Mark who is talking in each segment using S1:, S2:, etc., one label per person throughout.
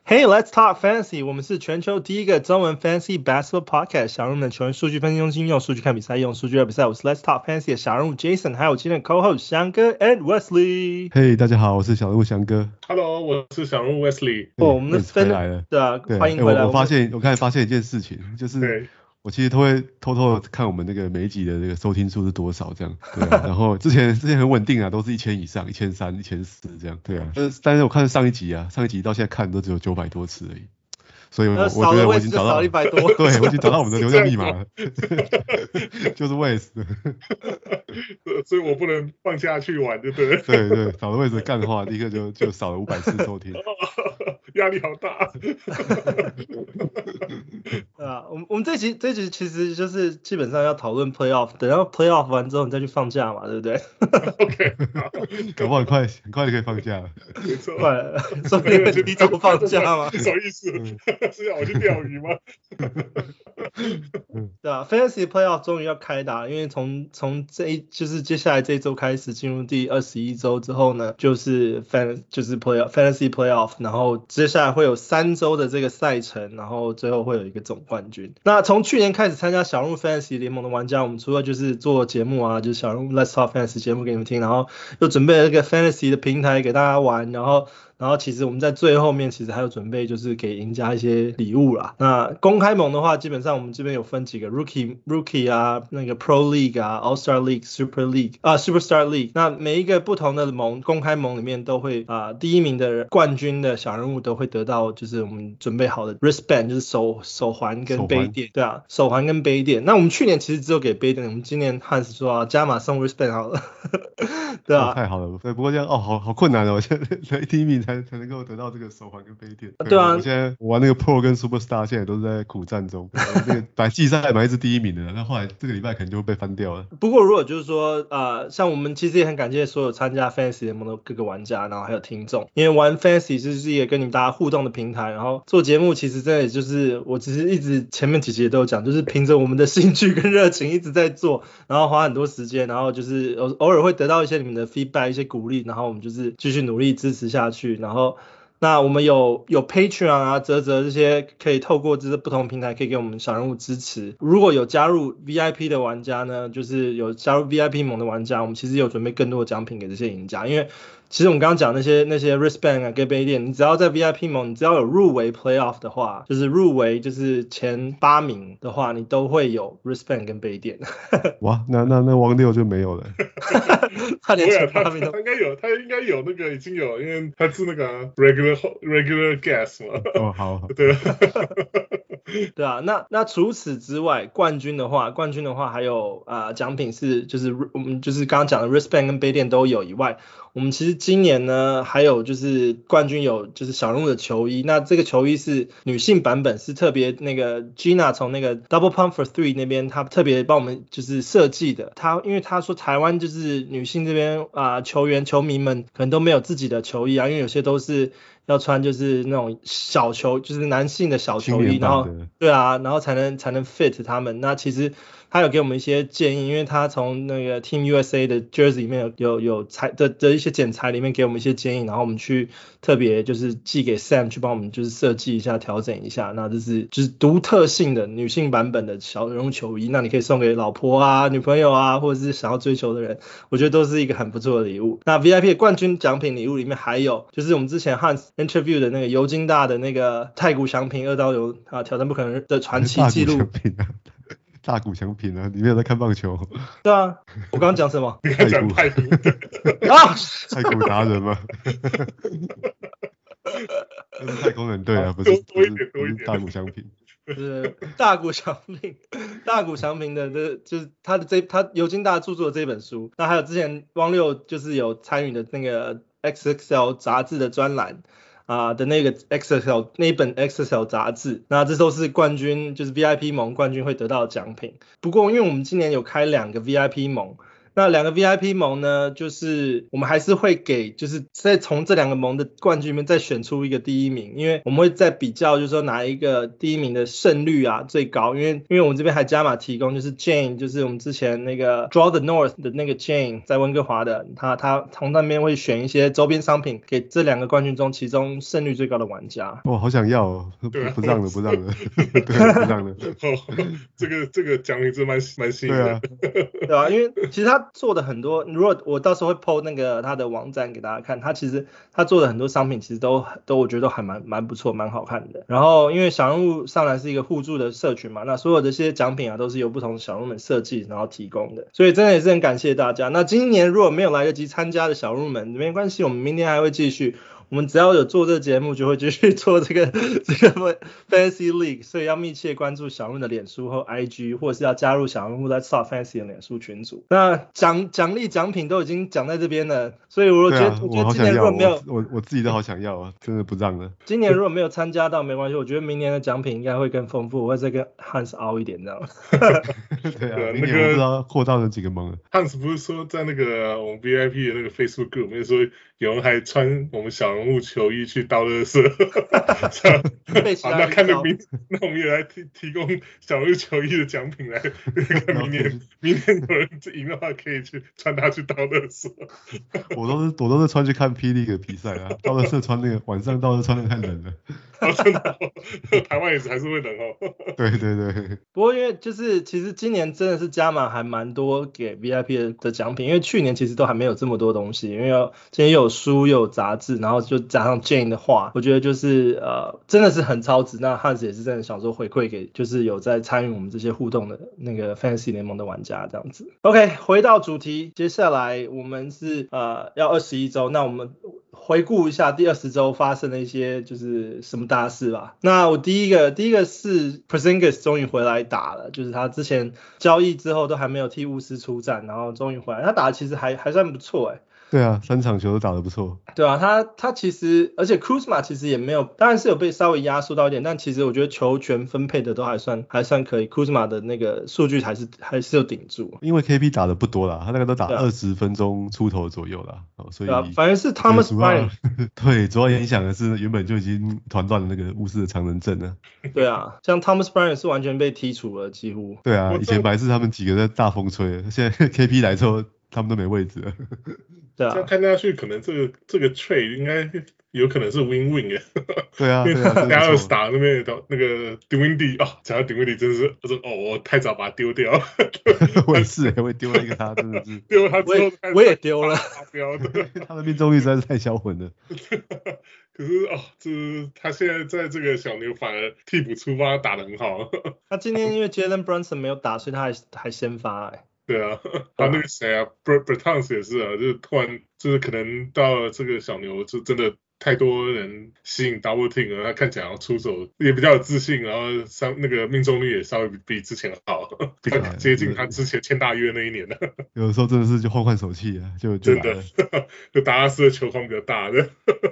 S1: Hey, let's talk fantasy. 我們是全球第一個中文 fantasy basketball podcast。小人物的球員數據分析中心，用數據看比賽，用數據聊比賽。我是 Let's Talk Fantasy 的小人物 Jason， 還有今天的 co-host 翔哥 and Wesley。
S2: 嘿，大家好，我是小人物翔哥。
S3: Hello， 我是小人物 Wesley。
S1: 我們的分
S2: 来了，
S1: 对啊，歡迎回來。
S2: 我剛才發現一件事情，就是我其實都會偷偷的看我們那個每一集的那個收聽數是多少這樣，對啊。然後之前很穩定啊，都是1000以上，1300、1400這樣，對啊。但是我看上一集到現在看都只有900多次而已。所以我覺得我已經找到
S1: 100多，
S2: 對，我已經找到我們的流量密碼了，就是 Wes，
S3: 所以我不能放下去玩，就對了。
S2: 对，少了 Wes 幹話，立刻就少了500次收聽，
S3: 壓力好大。
S1: 我們這集其實就是基本上要討論 playoff， 等到 playoff 完之後你再去放假嘛，對不對
S3: ？OK，
S2: 搞不好很快就可以放假了。
S3: 沒錯，
S1: 快，說不定提早放假嘛。
S3: 什麼意思？是要我去釣魚嗎？
S1: 對啊 ，Fantasy Playoff 終於要開打，因為從就是接下來這一周開始進入第21周之後呢，就是 Fantasy Playoff， 然後接下來會有3周的這個賽程，然後最後會有一個總冠軍。那從去年開始參加小人物 Fantasy 聯盟的玩家，我們除了就是做節目啊，就是小人物 Let's Talk Fantasy 節目給你們聽，然後又準備了一個 Fantasy 的平台給大家玩，然後其實我們在最後面其實還有準備就是給贏家一些禮物啦。那公開盟的話，基本上我們這邊有分幾個 Rookie 啊，那個 Pro League 啊 All-Star League、Super League 啊 Superstar League。那每一個不同的盟，公開盟裡面都會第一名的冠軍的小人物都會得到就是我們準備好的 wristband， 就是手環跟杯墊。對啊，手環跟杯墊。那我們去年其實只有給杯墊，我們今年漢斯說加碼送 wristband 好了。對啊，
S2: 太好了。對，不過這樣好困難哦，現在第一名才能夠得到這個手環跟杯墊。
S1: 對啊，
S2: 我现在玩那個 Pro 跟 Superstar 現在都是在苦戰中。那個本來季賽本來是第一名的，那後來這個禮拜可能就會被翻掉了。
S1: 不過如果就是說像我們其實也很感謝所有參加 Fantasy 聯盟的各個玩家，然後還有聽眾，因為玩 Fantasy 就是一個跟你們大家互動的平台，然後做節目其實真的就是我其實一直前面幾集也都有講，就是憑着我們的興趣跟熱情一直在做，然後花很多時間，然後就是偶爾會得到一些你們的 feedback 一些鼓勵，然後我們就是繼續努力支持下去，然後那我們有 Patreon 啊、嘖這些可以透過這些不同平台可以給我們小人物支持。如果有加入 VIP 的玩家呢，就是有加入 VIP 盟的玩家，我們其實有準備更多的獎品給這些贏家，因為其實我們剛剛講那些 wristband 啊跟杯墊，你只要在 VIP 盟，你只要有入圍 playoff 的話，就是入圍就是前8名的話，你都會有 wristband 跟杯墊。
S2: 哇，那王六就沒有了。
S1: 他連前8名都
S3: 他應該有那個已經有，因為他是那個 regular guest 嘛。
S2: 哦，好。
S3: 對。
S1: 对啊，那除此之外，冠軍的話還有獎品是就是我們就是剛剛講的 wristband 跟杯墊都有以外，我們其實今年呢還有就是冠軍有就是小人物的球衣，那這個球衣是女性版本，是特別那個 Gina 從那個 Double Pump for Three 那邊她特別幫我們就是設計的，因為她說台灣就是女性這邊球迷們可能都沒有自己的球衣啊，因為有些都是要穿就是那種小球，就是男性的小球衣，然後对啊，然後才能 fit 他們。那其實他有給我們一些建議，因為他從那個 Team USA 的 jersey 裡面有裁的一些剪裁裡面給我們一些建議，然後我們去特別就是寄給 Sam 去幫我們就是設計一下調整一下，那這是就是獨特性的女性版本的小人物球衣，那你可以送給老婆啊、女朋友啊，或者是想要追求的人，我覺得都是一個很不錯的禮物。那 VIP 的冠軍獎品禮物裡面還有就是我們之前 Hans interview 的那個尤金大的那個太古翔平2刀流挑戰不可能的傳奇記錄。
S2: 大谷翔平啊，你沒有在看棒球？
S1: 對啊，我剛剛講什麼？
S3: 你剛講太古
S1: 啊，
S2: 太古達人嗎？那是太空人隊啊，不是
S3: 多一點
S2: 大谷翔平。
S1: 是大谷翔平的就是他尤金大著作的這本書，那還有之前汪六就是有參與的那個 XXL 雜誌的專欄的那個 XXL 那一本 XXL 雜誌，那這都是冠軍就是 VIP 盟冠軍會得到的獎品。不過因為我們今年有開2個 VIP 盟， 那2個 VIP 盟呢，就是我們還是會給，就是再從這2個盟的冠軍裡面再選出一個第一名，因為我們會再比較，就是說哪一個第一名的勝率啊最高，因為我們這邊還加碼提供，就是 Jane， 就是我們之前那個 Draw the North 的那個 Jane 在溫哥華的，他從那邊會選一些周邊商品給這2個冠軍中其中勝率最高的玩家。
S2: 哇，好想要哦，不讓了，对，不讓了。
S3: 这个獎品真蠻吸引人的。
S1: 對啊，因為其實他做的很多，如果我到時候會 po 那個他的網站給大家看，他其實他做的很多商品其實都我覺得都還蠻不錯，蠻好看的。然後因為小人物上來是一個互助的社群嘛，那所有這些獎品啊都是由不同的小人物們設計然後提供的，所以真的也是很感謝大家。那今年如果沒有來得及參加的小人物們沒關係，我們明年還會繼續。我們只要有做這個節目，就會繼續做這個 Fantasy League， 所以要密切關注小人物的臉書或 IG， 或者是要加入小人物在 Talk Fantasy 的臉書群組。那獎勵獎品都已經講在這邊了，所以我覺得今年如果沒有，
S2: 我自己都好想要啊，真的不讓了。
S1: 今年如果沒有參加到沒關係，我覺得明年的獎品應該會更豐富，我會再跟 Hans 凹一點這樣。
S2: 對啊，明年我不知道擴到了幾個盟了。
S3: Hans 不是說在那個我們 VIP 的那個 Facebook group 裡面說有人還穿我們小人物球衣去倒垃圾，那看着那我們也來提供小人物球衣的獎品來，明年有人贏的話可以去穿它去倒垃圾。
S2: 我都是穿去看霹靂的比賽啊，倒垃圾穿那個晚上倒垃圾穿的太冷了。
S3: 真的台灣也是還是會冷哦。
S2: 對。
S1: 不過因為就是其實今年真的是加碼還蠻多給 VIP 的獎品，因為去年其實都還沒有這麼多東西，因為今年又有書又有雜誌，然後就加上 Jane 的畫，我覺得就是真的是很超值。那 Hans 也是真的想說回饋給就是有在參與我們這些互動的那個 Fantasy 聯盟的玩家這樣子。OK， 回到主題，接下來我們是要21週，那我們回顧一下第20週發生的一些就是什麼大事吧。那我第一個是 Porzingis 終於回來打了，就是他之前交易之後都還沒有替巫師出戰，然後終於回來，他打的其實還算不錯欸。
S2: 對啊，3場球都打得不錯。
S1: 對啊，他其實，而且 Kuzma 其實也沒有，當然是有被稍微壓縮到一點，但其實我覺得球權分配的都還算可以。Kuzma 的那個數據還是有頂住。
S2: 因為 KP 打的不多啦，他那個都打20分鐘出頭左右啦，所以
S1: 反而是 Thomas Bryant
S2: 對，主要影響的是原本就已經團斷的那個巫師的長人陣了。對
S1: 啊，像 Thomas Bryant 是完全被剔除了幾乎。
S2: 對啊，以前本來是他們幾個在大風吹，現在 KP 來之後他們都沒位置了。
S1: 對啊，
S3: 這樣看下去，可能這個 trade 應該有可能是 win-win 耶。
S2: 對啊，
S3: 因為Dallas打那邊那個 Dinwiddie 講到 Dinwiddie 真是，我太早把他丟掉了。
S2: 我也是，我也丟了一個他，真的是。
S3: 丟了他之後，
S1: 我也丟了。
S2: 他的命中率實在是太銷魂了。
S3: 可是就是他現在在這個小牛反而替補出發打得很好。
S1: 他今天因為 Jalen Brunson 沒有打，所以他還先發欸。
S3: 對啊，他那個誰啊 Bertans 也是啊，就是突然就是可能到了這個小牛就真的太多人吸引 double team 了，他看起來要出手也比較有自信，然後那個命中率也稍微比之前好，比較接近他之前簽大約那一年的。
S2: 有的時候真的是就換手氣啊，就
S3: 真的，就達拉斯的球框比較大的。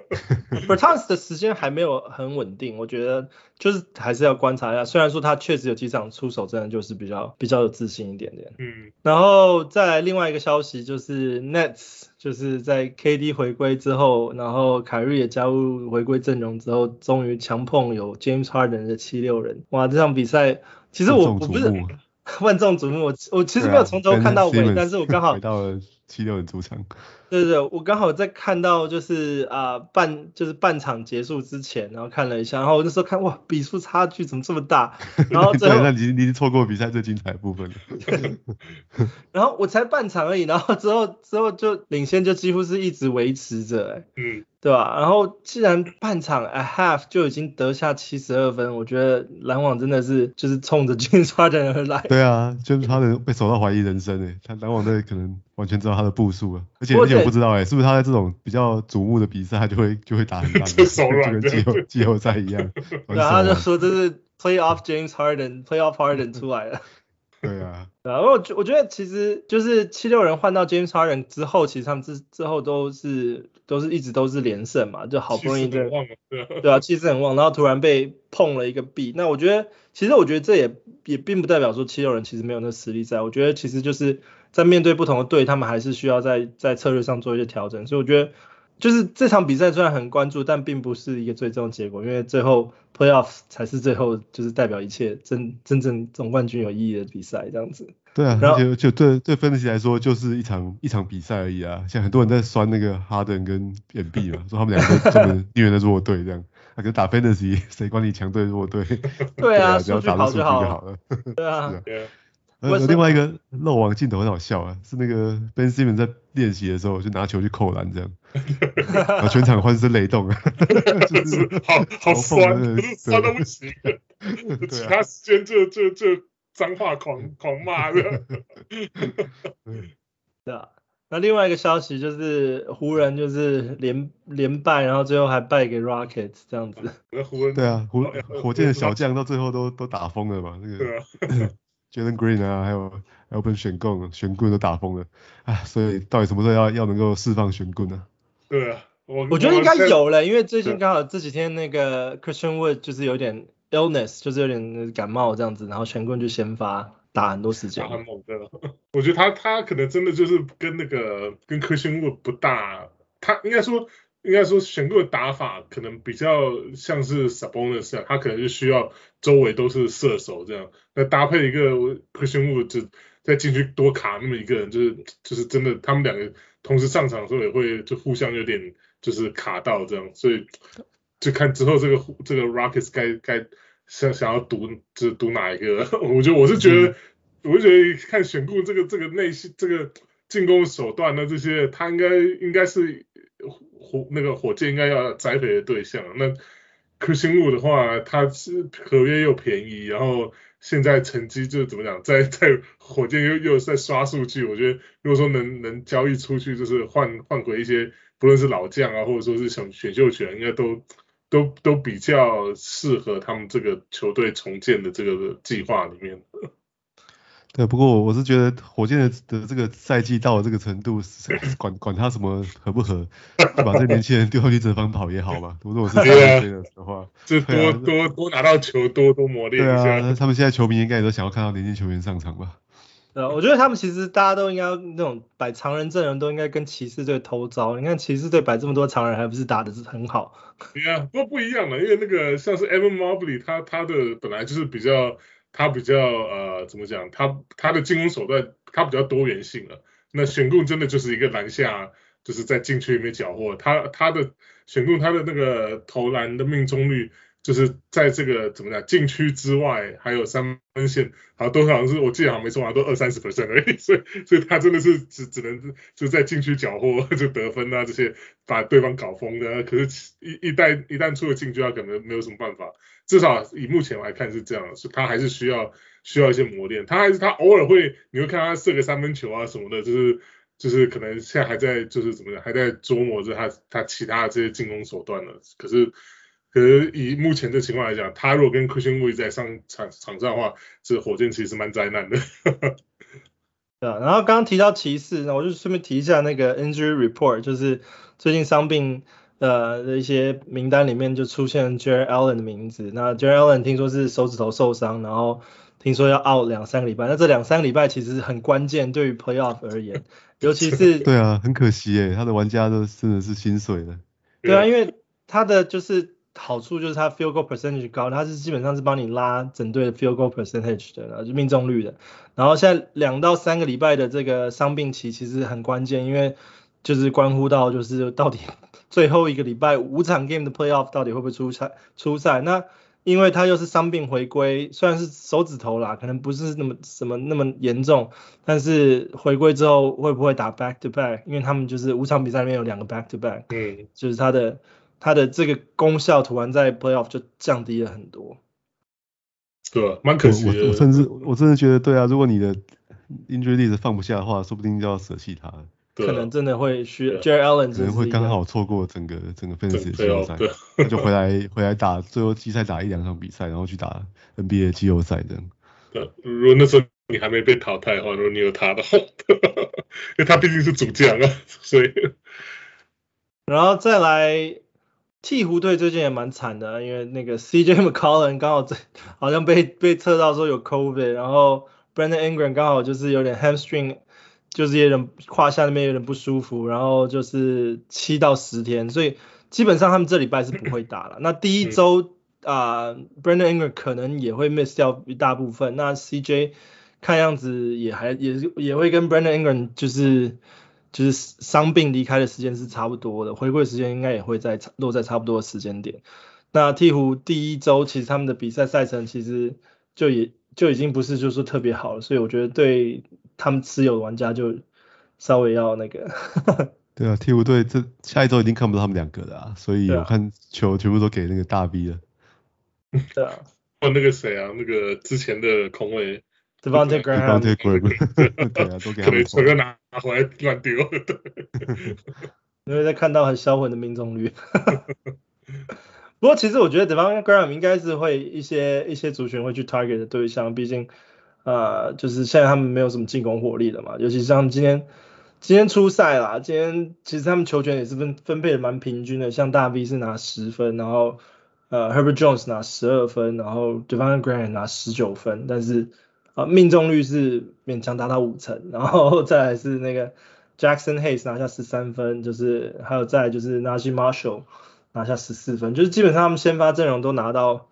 S1: Bertans 的時間還沒有很穩定，我覺得就是還是要觀察一下。雖然說他確實有幾場出手真的就是比較有自信一點點。然後再來另外一個消息就是 Nets 就是在 KD 回歸之後，然後凱瑞也加入回歸陣容之後，終於強碰有 James Harden 的76人。哇，這場比賽其實我不是萬眾矚目，我其實沒有從頭看到尾，但是我剛好
S2: 回到了76人主場。
S1: 對，我剛好在看到就是半場結束之前，然後看了一下，然後我那時候看哇，比數差距怎麼這麼大？然後最後
S2: 那你錯過比賽最精彩的部分了。
S1: 然後我才半場而已，然後之後就領先就幾乎是一直維持着，對吧？然後既然半場 at half 就已經得下72分，我覺得籃網真的是就是衝着 James Harden 而來。
S2: 對啊，James Harden被守到懷疑人生他籃網隊可能完全知道他的步數了，而且我不知道是不是他在這種比較矚目的比賽他就會打很爛，就跟季後賽一樣。
S1: 對啊，他就說這是 playoff James Harden，playoff Harden 出來了。
S2: 對啊，
S1: 我覺得其實就是76人換到 James Harden 之後，其實他們之後都是一直都是連勝嘛，就好不容易對啊，氣勢很旺，然後突然被碰了一個壁。那我覺得這也並不代表說76人其實沒有那實力在，我覺得其實就是在面對不同的隊，他們還是需要在策略上做一些調整。所以我覺得，就是這場比賽雖然很關注，但並不是一個最終結果，因為最後 playoff 才是最後就是代表一切真正總冠軍有意義的比賽這樣子。
S2: 對啊，而且就對 Fantasy 來說，就是一場比賽而已啊。像很多人在酸那個 Harden 跟 Embiid 嘛，說他們兩個專門虐的弱隊這樣。可是打 Fantasy 誰管你強隊弱隊？
S1: 對啊，
S2: 只要打出數据就好了。
S1: 對啊。
S2: 另外一個漏网鏡頭很好笑啊，是那個 Ben Simmons 在練習的時候就拿球去扣籃這樣，然後全場歡聲雷動啊，就是
S3: 好酸，酸到不行。其他時間就髒話狂罵的。
S1: 對啊，那另外一個消息就是湖人就是連敗，然後最後還敗給 Rockets 這樣子。
S2: 對啊，火箭的小將到最後都打瘋了嘛，那個。Jalen Green 啊，還有 Alperen Sengun 都打瘋了啊，所以到底什麼時候要能夠釋放玄棍呢？
S3: 對啊，
S1: 我覺得應該有了，因為最近剛好這幾天那個 Christian Wood 就是有點 illness， 就是有點感冒這樣子，然後玄棍就先發打很多時間。
S3: 很猛的，我覺得他可能真的就是跟Christian Wood 不大，他應該說玄棍的打法可能比較像是 Sabonis 這樣，他可能是需要周圍都是射手這樣，那搭配一個 Christian Wood 就在禁區多卡那麼一個人，就是真的他們兩個同時上場的時候也會就互相有點就是卡到這樣，所以就看之後這個 Rockets 該想要賭哪一個，我是覺得看玄棍這個內線這個進攻手段呢，這些他應該是那個火箭應該要栽培的對象。那 Christian Wood 的話，他是合約又便宜，然後現在成績就怎麼講，在火箭又在刷數據。我覺得如果說能交易出去，就是換回一些不論是老將啊，或者說是想選秀權，應該都比較適合他們這個球隊重建的這個計劃裡面。
S2: 對，不過我是覺得火箭的這個賽季到了這個程度，管他什麼合不合，就把這個年輕人丟上去折返跑也好嘛。如果我是賽季的話，
S3: 就多拿到球，多磨練一下。
S2: 對啊，他們現在球迷應該也都想要看到年輕球員上場吧。
S1: 我覺得他們其實大家都應該那種擺常人陣容都應該跟騎士隊偷招。你看騎士隊擺這麼多常人，還不是打得很好？
S3: 對啊，不一樣了，因為那個像是 Evan Mobley，他的本來就是比較怎麼講？他的進攻手段他比較多元性了。那玄棍真的就是一個籃下，就是在禁區裡面繳獲。他的玄棍他的那個投籃的命中率，就是在這個怎麼講禁區之外，還有三分線，好像是我記得好像沒錯，好像都20-30% 而已。所以他真的是只能就在禁區繳獲就得分啊，這些把對方搞瘋的。可是一旦出了禁區，他可能沒有什麼辦法。至少以目前來看是這樣，是他還是需要一些磨練。他偶爾你會看他射個三分球啊什麼的，就是可能現在還在就是怎麼講，還在琢磨着他其他的這些進攻手段呢。可是以目前這情況來講，他如果跟 Christian Wood 在場上的話，這火箭其實蠻災難的。
S1: 對啊，然後剛剛提到騎士，那我就順便提一下那個 injury report， 就是最近傷病的一些名單裡面就出現 Jarrett Allen 的名字。那 Jarrett Allen 聽說是手指頭受傷，然後聽說要 out 2-3個禮拜。那這2-3個禮拜其實很關鍵，對於 playoff 而言，尤其是
S2: 對啊，很可惜耶，他的玩家都真的是心碎了。
S1: 對啊，因為他的就是好處就是他 field goal percentage 高，他是基本上是幫你拉整隊的 field goal percentage 的，然後就命中率的。然後現在2到3個禮拜的這個傷病期其實很關鍵，因為就是關乎到就是到底最後一個禮拜5場 game 的 playoff 到底會不会出賽。那因為他又是傷病回歸，雖然是手指頭啦，可能不是那麼嚴重，但是回歸之後會不會打 back to back？ 因為他們就是5場比賽裡面有2個 back to back， 就是他的這個功效突然在 playoff 就降低了很多。
S3: 对，蠻可惜的。
S2: 我真的覺得，對啊，如果你的 injury list 放不下的話，說不定就要捨棄他了。
S1: 可能真的會需要 Jarrett Allen
S2: 可能會剛好錯過整個 Fantasy 的季後賽，他就回來打最後季賽打1-2場比賽，然後去打 NBA 季後賽這樣。
S3: 對，如果那時候你還沒被淘汰的話，如果你有他的話，因為他畢竟是主將啊，所以。
S1: 然後再來鹈鶘隊最近也蠻慘的，因為那個 CJ McCollum 剛好好像被測到說有 COVID， 然後 Brandon Ingram 剛好就是有點 hamstring。 就是有點胯下那邊有點不舒服，然後就是7到10天，所以基本上他們這禮拜是不會打了。那第一周Brandon Ingram 可能也會 miss 掉一大部分，那 CJ 看樣子也會跟 Brandon Ingram 就是傷病離開的時間是差不多的，回歸時間應該也會落在差不多的時間點。那鹈鶘第一周其實他們的比賽賽程其實就已經不是就是說特別好了，所以我覺得對他們持有的玩家就稍微要那個。
S2: 對啊，鹈鶘隊這下一周已經看不到他們兩個了啊，所以我看球全部都給那個大 B 了。
S1: 對啊。
S3: 那個誰啊，那個之前的控衛
S1: Devontae Graham，
S2: 對啊，都給他们投。
S3: 可能拿回來亂丟。
S1: 因為在看到很銷魂的命中率。不過其實我覺得 Devontae Graham 應該是會一些族群會去 target 的對象，畢竟就是現在他們沒有什麼進攻火力了嘛，尤其是像今天出賽啦，今天其實他們球權也是分配的蠻平均的，像大 V 是拿10分，然後Herbert Jones 拿12分，然後 Devontae Graham 拿19分，但是命中率是勉強達到50%，然後再來是那個 Jackson Hayes 拿下13分，就是還有再來就是 Najee Marshall 拿下14分，就是基本上他們先發陣容都拿到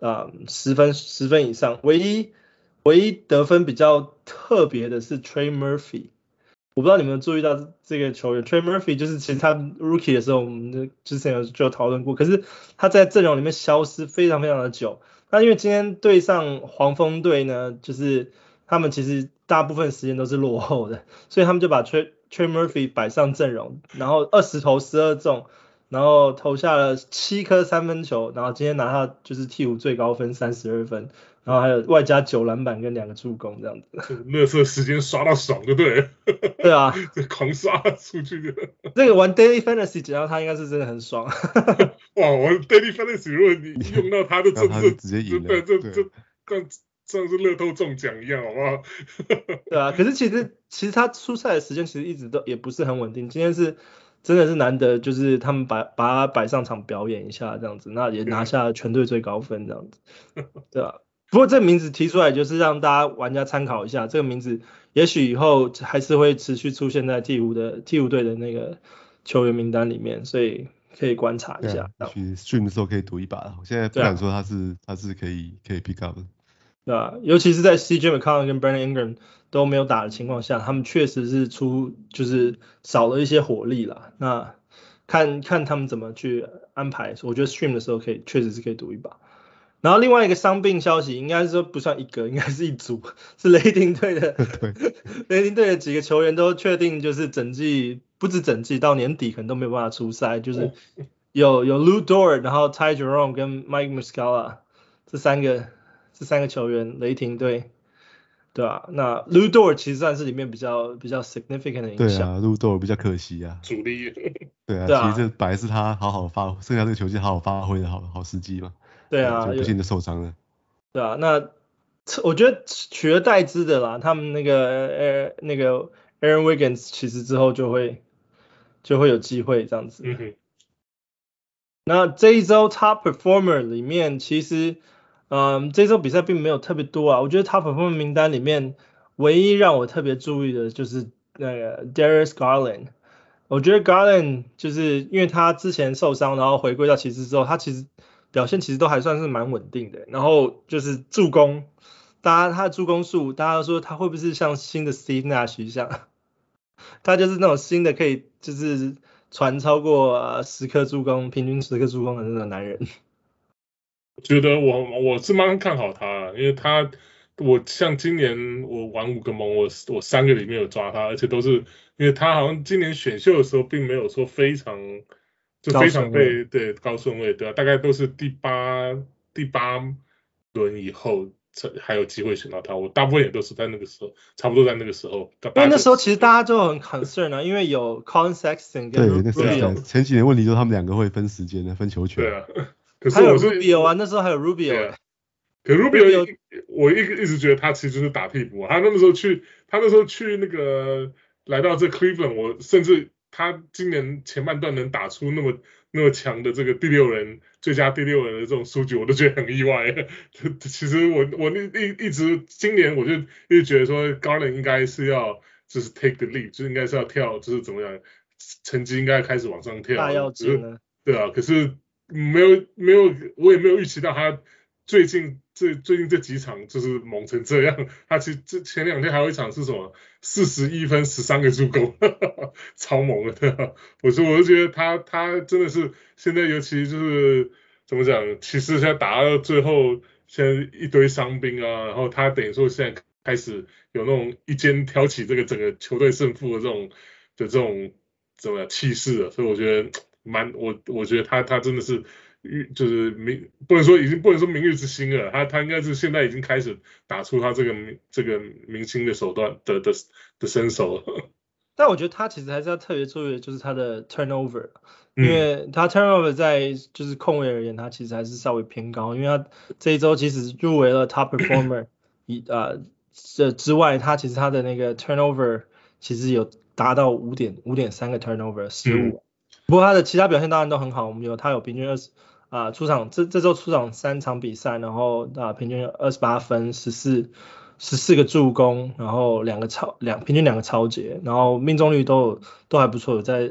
S1: 10分以上，唯一得分比較特別的是 Trey Murphy， 我不知道你們有注意到這個球員 Trey Murphy， 就是其實他 Rookie 的時候我們之前就有討論過，可是他在陣容裡面消失非常非常的久。那因為今天對上黃蜂隊呢，就是他們其實大部分時間都是落後的，所以他們就把 Trey Murphy 擺上陣容，然後20投12中，然後投下了7顆3分球，然後今天拿下就是鹈鶘最高分32分，然後還有外加9籃板跟2個助攻這樣子。
S3: 垃圾時間刷到爽就對了。
S1: 對啊，
S3: 狂刷出去的。
S1: 這個玩 Daily Fantasy 只要他應該是真的很爽。
S3: 哇，我 Daily Fantasy 如果你用到他的就
S2: 直接贏了，
S3: 對，這像是樂透中獎一樣，好不好？
S1: 對啊，可是其實他出賽的時間其實一直都也不是很穩定，今天是真的是難得，就是他們把他擺上場表演一下這樣子，那也拿下了全隊最高分這樣子，對啊。不過這個名字提出來就是讓大家玩家參考一下，這個名字也許以後還是會持續出現在鹈鶘隊的那個球員名單裡面，所以可以觀察一下。
S2: 也許 stream 的時候可以賭一把，我現在不敢說他是可以 pick up 的。
S1: 對啊，尤其是在 CJ McCollum 跟 Brandon Ingram 都沒有打的情況下，他們確實是就是少了一些火力啦。那看他們怎麼去安排，我覺得 stream 的時候確實是可以賭一把。然後另外一個傷病消息，應該是說不算一個，應該是一組，是雷霆隊的。雷霆隊的幾個球員都確定就是不止整季到年底可能都沒有辦法出賽，就是有 Lu Dort， 然後 Ty Jerome 跟 Mike Muscala 這三個球員，雷霆隊，對吧？那 Lu Dort 其實算是裡面比較 significant 的影響。
S2: 對啊，Lu Dort 比較可惜啊。
S3: 主力。
S2: 對啊，其實這本來是他好好發揮，剩下這個球季好好發揮的好時機嘛。
S1: 對啊，
S2: 就不幸的受傷了。
S1: 對啊，那我覺得取而代之的啦，他們那個 Aaron Wiggins 其實之後就會有機會這樣子。那這一周 Top Performer 裡面，其實這一周比賽並沒有特別多啊。我覺得 Top Performer 名單裡面，唯一讓我特別注意的就是那個 Darius Garland。我覺得 Garland 就是因為他之前受傷，然後回歸到騎士之後，他其實表現其實都還算是蠻穩定的。然後就是助攻，他的助攻數，大家都說他會不會是像新的 Steve Nash 一樣，他就是那種新的可以就是傳超過10顆助攻，平均10顆助攻的那種男人。
S3: 我覺得我是蠻看好他，因為我像今年我玩5個盟，我3個裡面有抓他，而且都是因為他好像今年選秀的時候並沒有說非常對高順位，對啊，大概都是第八輪以後還有機會選到他，我大部分也都是在那個時候，差不多在那個時候。
S1: 因為那時候其實大家就很 concern 啊，因為有 Colin Sexton 跟 Rubio，
S2: 前幾年問題就是他們兩個會分時間的，分球權。
S3: 對啊，可是我是
S1: 還有 Rubio 啊，那時候還有 Rubio。
S3: 可 Rubio 我一直覺得他其實就是打替補，他那時候去那個來到這 Cleveland， 我甚至他今年前半段能打出那麼強的這個最佳第6人的這種數據，我都覺得很意外。其實我一直今年我就一直覺得說 Garland 應該是要就是 take the lead， 就應該是要跳，就是怎麼樣，成績應該開始往上跳。
S1: 大躍進了。
S3: 對啊，可是沒有，我也沒有預期到他最近這幾場就是猛成這樣。他其實前2天還有一場是什麼41分13個助攻，超猛的，對啊。我就覺得他真的是現在尤其就是怎麼講，其實現在打到最後，現在一堆傷兵啊，然後他等於說現在開始有那種一肩挑起這個整個球隊勝負的這種怎麼樣氣勢了，所以我覺得我覺得他真的是就是不能說明日之星了，他應該是現在已經開始打出他這個明星的手段的身手了。
S1: 但我覺得他其實還是要特別注意的就是他的 turnover， 因為他 turnover 在就是控衛而言，他其實還是稍微偏高，因為他這一周即使入圍了 top performer 這之外，他其實他的那個 turnover 其實有達到5.3個 turnover 失誤。不過他的其他表現當然都很好，我們他有平均出场這周出場3場比赛，然後平均28分14個助攻，然後平均2個抄截，然後命中率都還不錯，有在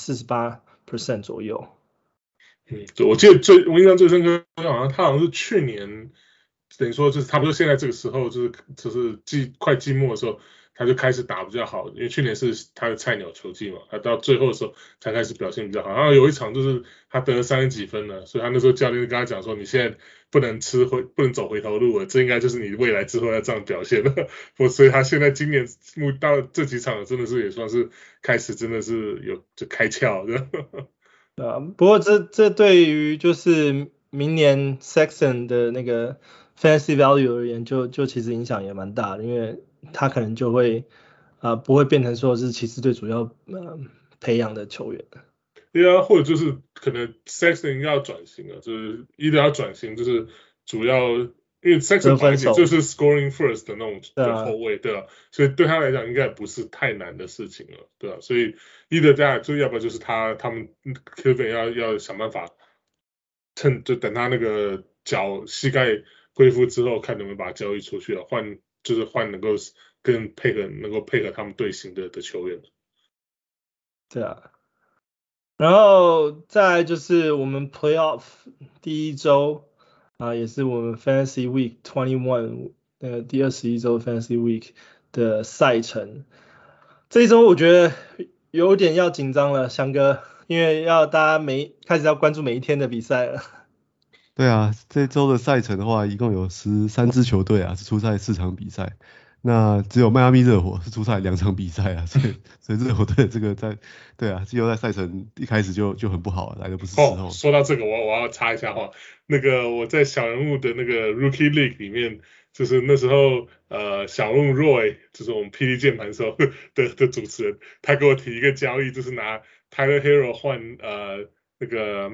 S1: 48% 左右。
S3: 我記得我印象最深刻，他好像是去年，等於說就是差不多現在這個時候，就是快季末的時候，他就開始打比較好，因為去年是他的菜鳥球季嘛，他到最後的時候才開始表現比較好。然後有一場就是他得了30幾分了，所以他那時候教練就跟他講說，你現在不能走回頭路了，這應該就是你未來之後要這樣表現了。所以他現在今年到這幾場真的是也算是開始真的是就開竅的。
S1: 不過這對於就是明年 Sexton 的那個 fantasy value 而言，就其實影響也蠻大的，因為他可能就會不會变成說是骑士隊主要培養的球員。
S3: 對啊，或者就是可能 Sexton 要轉型了，就是一定要轉型，就是主要因為 Sexton 本來就是 scoring first 的那種的後衛，對啊，所以對他來講應該不是太難的事情了，對啊，所以大家就要不然就是他們 Cleveland 要想辦法就等他那個膝蓋恢復之後，看能不能把他交易出去了，換能夠配合他們隊形的球員。
S1: 對啊，然後再來就是我們 Playoff 第一周也是我們 Fantasy Week 21第21周 Fantasy Week 的賽程。這一周我覺得有點要緊張了，翔哥，因為大家開始要關注每一天的比賽了。
S2: 對啊，這周的賽程的話，一共有13支球隊是出賽4場比賽。那只有邁阿密熱火是出賽2場比賽所以熱火隊這個季後賽賽程一開始就很不好，來的不是時候。
S3: 說到這個，我要插一下話，那個我在小人物的那個 Rookie League 裡面，就是那時候小人物 Roy 就是我們 PD 鍵盤手的主持人，他給我提一個交易，就是拿 Tyler Hero 換那個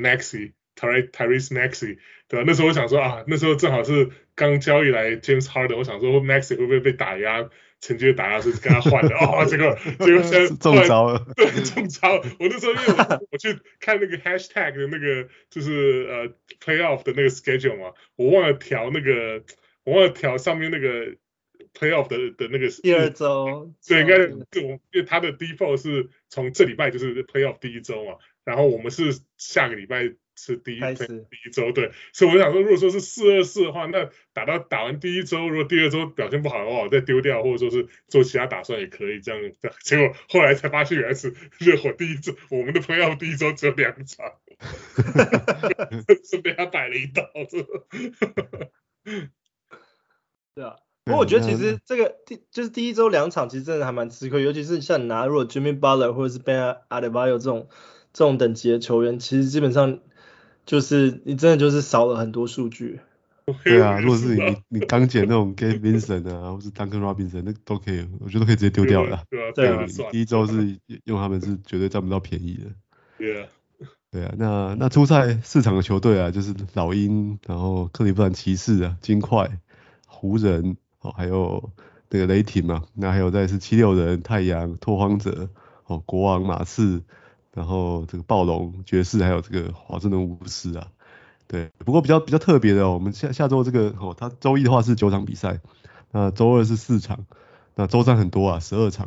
S3: Tyrese Maxey， 對吧？那時候我想說那時候正好是剛交易來 James Harden， 我想說 Maxey 會不會被打壓，趁機打壓，是跟他換的結果現在
S2: 中招了，
S3: 對，中招了。我那時候因為我去看那個 hashtag 的那個就是playoff 的那個 schedule 嘛，我忘了調上面那個 playoff 的那個
S1: 第2周，
S3: 對，應該因為他的 default 是從這禮拜就是 playoff 第1周嘛，然後我們是下個禮拜是第一周，對，所以我想說，如果說是4-2-4的話，那打完第1周，如果第2周表現不好的話，我再丟掉，或者說是做其他打算也可以這樣。結果後來才發現，原來是熱火第1周，我們的playoff第1周只有2場，是被他擺了一道。
S1: 對啊，不過我覺得其實這個就是第1周2場，其實真的還蠻吃虧，尤其是像你拿如果 Jimmy Butler 或者是 Ben Adebayo 這種等級的球員，其實基本上就是你真的就是少了很多數據。
S2: 對啊，如果是你剛撿那種 Gabe Vincent 或是 Duncan Robinson 那都可以，我觉得都可以直接丟掉了。
S3: 对啊，
S2: 第1周是用他們是絕對佔不到便宜的。
S3: 對啊，
S2: 那出賽4場的球隊就是老鷹，然後克利夫蘭騎士金塊、湖人還有那個雷霆嘛，那還有再是76人、太陽、拓荒者、國王、馬刺，然後這個暴龍、爵士，還有這個華盛頓巫師對，不過比較特別的我們下周這個他周一的話是9場比賽，那周二是4場，那周三很多12場，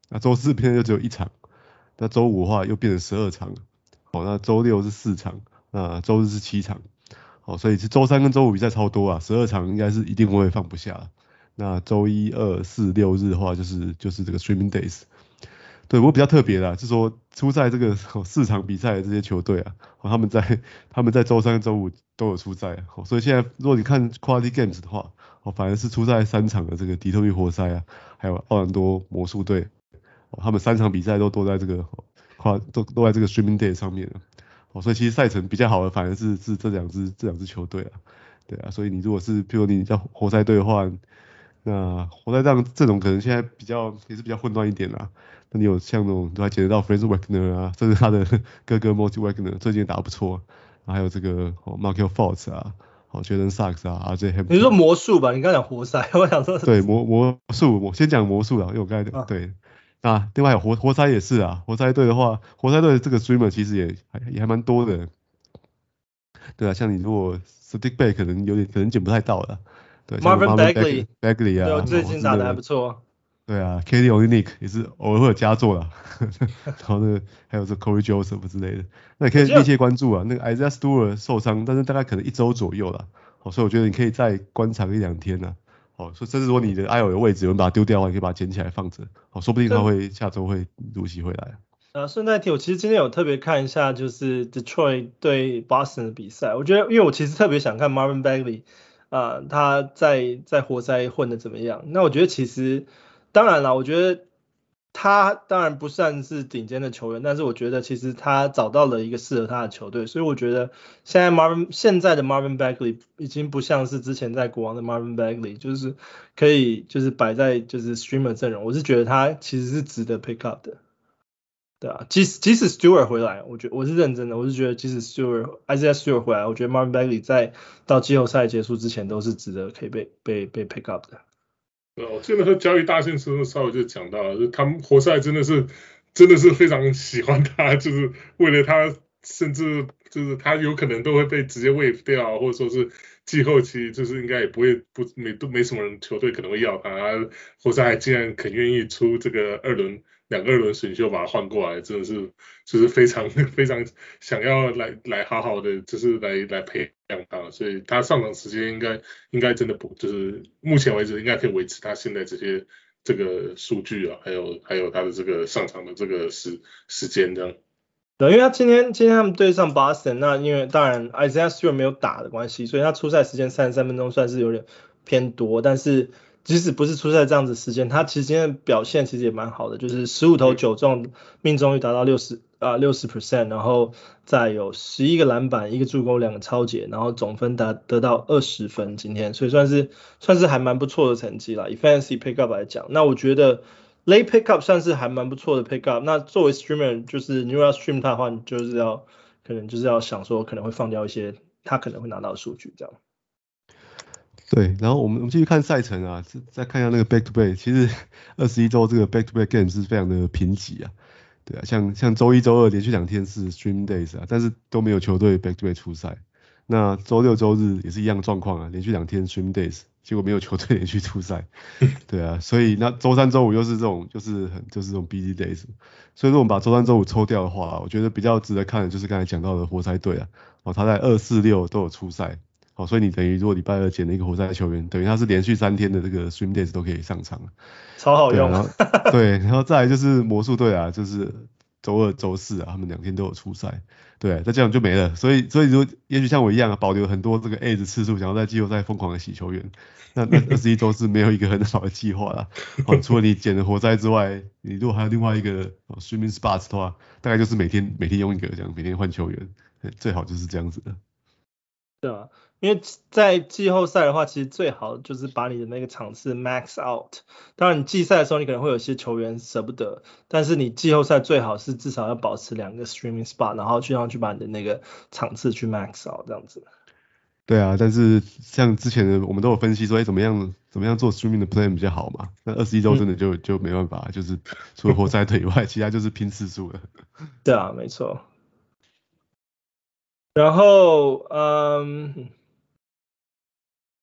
S2: 那週4變就只有1場，那週5的話又變成12場，好，那週6是4場，那週日是7場，好，所以是週3跟週5比賽超多啊，12場應該是一定會放不下。那週1、2、4、6日的話就是這個 streaming days。對，不過比較特別的是說出賽這個4場比賽的這些球隊啊，他們在週3跟週5都有出賽，所以現在如果你看 quality games 的話，反而是出賽3場的這個底特律活塞啊，還有奧蘭多魔術隊，他們3場比賽都在這個都在這個 streaming day 上面了，所以其實賽程比較好的反而是這兩支球隊啊，對啊，所以你如果是譬如你在活塞隊的話，那活塞這種可能現在也是比較混亂一點啦。那你有像那種都還撿得到 Franz Wagner 啊，甚至他的哥哥 Monty Wagner 最近也打得不錯，還有這個Markelle Fultz 啊，Jalen Suggs 啊 ，RJ Hampton。
S1: 你說魔術吧？你剛講活塞，我想說。對，
S2: 魔術，我先講魔術啦，因為我剛才對。那另外有活塞也是啊，活塞队的話，活塞队的這個 streamer 其實也還蠻多的。對啊，像你如果 Sadiq Bey 可能撿不太到了。對
S1: ，Marvin
S2: Bagley 啊，
S1: 对，最近打得還不錯。
S2: 對啊 ，Kelly Olynyk 也是偶爾會有佳作啦，然後還有這 Corey Joseph 之類的，那你可以密切關注啊。那個 Isaiah Stewart 受傷，但是大概可能1周左右啦，所以我覺得你可以再觀察1-2天啦。所以甚至說你的 IL 的位置有人把它丟掉的話，你可以把它撿起來放着，說不定他下周會如期回來。
S1: 順帶提，我其實今天有特別看一下，就是 Detroit 對 Boston 的比賽，我覺得因為我其實特別想看 Marvin Bagley。他在活塞混得怎麼樣？那我覺得其實，當然啦，我覺得他當然不算是頂尖的球員，但是我覺得其實他找到了一個適合他的球隊，所以我覺得現在的 Marvin Bagley 已經不像是之前在國王的 Marvin Bagley，就是可以就是擺在就是 streamer 陣容，我是覺得他其實是值得 pick up 的。對啊，即使 Stewart 回來，我是認真的，我是覺得即使 Isaiah Stewart 回來，我覺得 Marvin Bagley 在到季後賽結束之前都是值得可以被 pick up 的。
S3: 我记得和交易大線時候稍微就講到了，就是他們活塞真的是非常喜歡他，就是為了他，甚至就是他有可能都會被直接 waive 掉，或者說是季後期就是應該也不會沒什麼人球隊可能會要他，活塞還竟然肯願意出這個2個二輪選秀把他換過來，真的是就是非常想要來好好的就是來培養他，所以他上場時間應該真的不就是目前為止應該可以維持他現在這個數據啊，還有他的這個上場的這個時間這樣。
S1: 對，因為他今天他們對上 Boston， 那因為當然 Isaiah Stewart 沒有打的關係，所以他出賽時間33分鐘算是有點偏多，但是即使不是出賽這樣子時間，他其實今天的表現其實也蠻好的，就是15投9中，命中率達到60%，然後再有11個籃板，1個助攻，2個抄截，然後總分得到20分今天，所以算是還蠻不錯的成績啦。以 Fantasy Pickup 來講，那我覺得 Late Pickup 算是還蠻不錯的 Pickup。那作為 Streamer， 就是你如果要 Stream 他的話，你可能就是要想說可能會放掉一些他可能會拿到的數據這樣。
S2: 對，然後我們繼續看賽程啊，再看一下那個 Back to Back， 其實21周這個 Back to Back Game 是非常的貧瘠啊，對啊，像周1、周2連續2天是 Stream Days 啊，但是都沒有球隊 Back to Back 出賽。那周6、周日也是一樣狀況啊，連續2天 Stream Days， 結果沒有球隊連續出賽，對啊，所以那周3、周5又是這種就是這種 Busy Days， 所以如果我們把周3、周5抽掉的話，我覺得比較值得看的就是剛才講到的活塞隊啊，他在2、4、6都有出賽。所以你等於如果禮拜2撿了一個活塞球員，等於他是連續3天的這個 stream days 都可以上場，
S1: 超好用。
S2: 對，然後再來就是魔術隊啊，就是周2、周4啊，他們2天都有出賽，對，再這樣就沒了。所以如果也許像我一樣啊，保留很多這個 A 的次數，想要在季後賽瘋狂的洗球員，那21周是沒有一個很好的計劃啦。除了你撿了活塞之外，你如果還有另外一個 streaming spots 的話，大概就是每天用一個這樣，每天換球員，最好就是這樣子的。
S1: 對啊，因為在季後賽的話，其實最好就是把你的那個場次 max out。當然，你季賽的時候你可能會有些球員捨不得，但是你季後賽最好是至少要保持2個 streaming spot， 然後去把你的那個場次去 max out 這樣子。
S2: 對啊，但是像之前的我們都有分析說，怎麼樣做 streaming 的 plan 比較好嘛？那21周真的就沒辦法，就是除了活塞隊以外，其他就是拼次數了。
S1: 對啊，沒錯。然後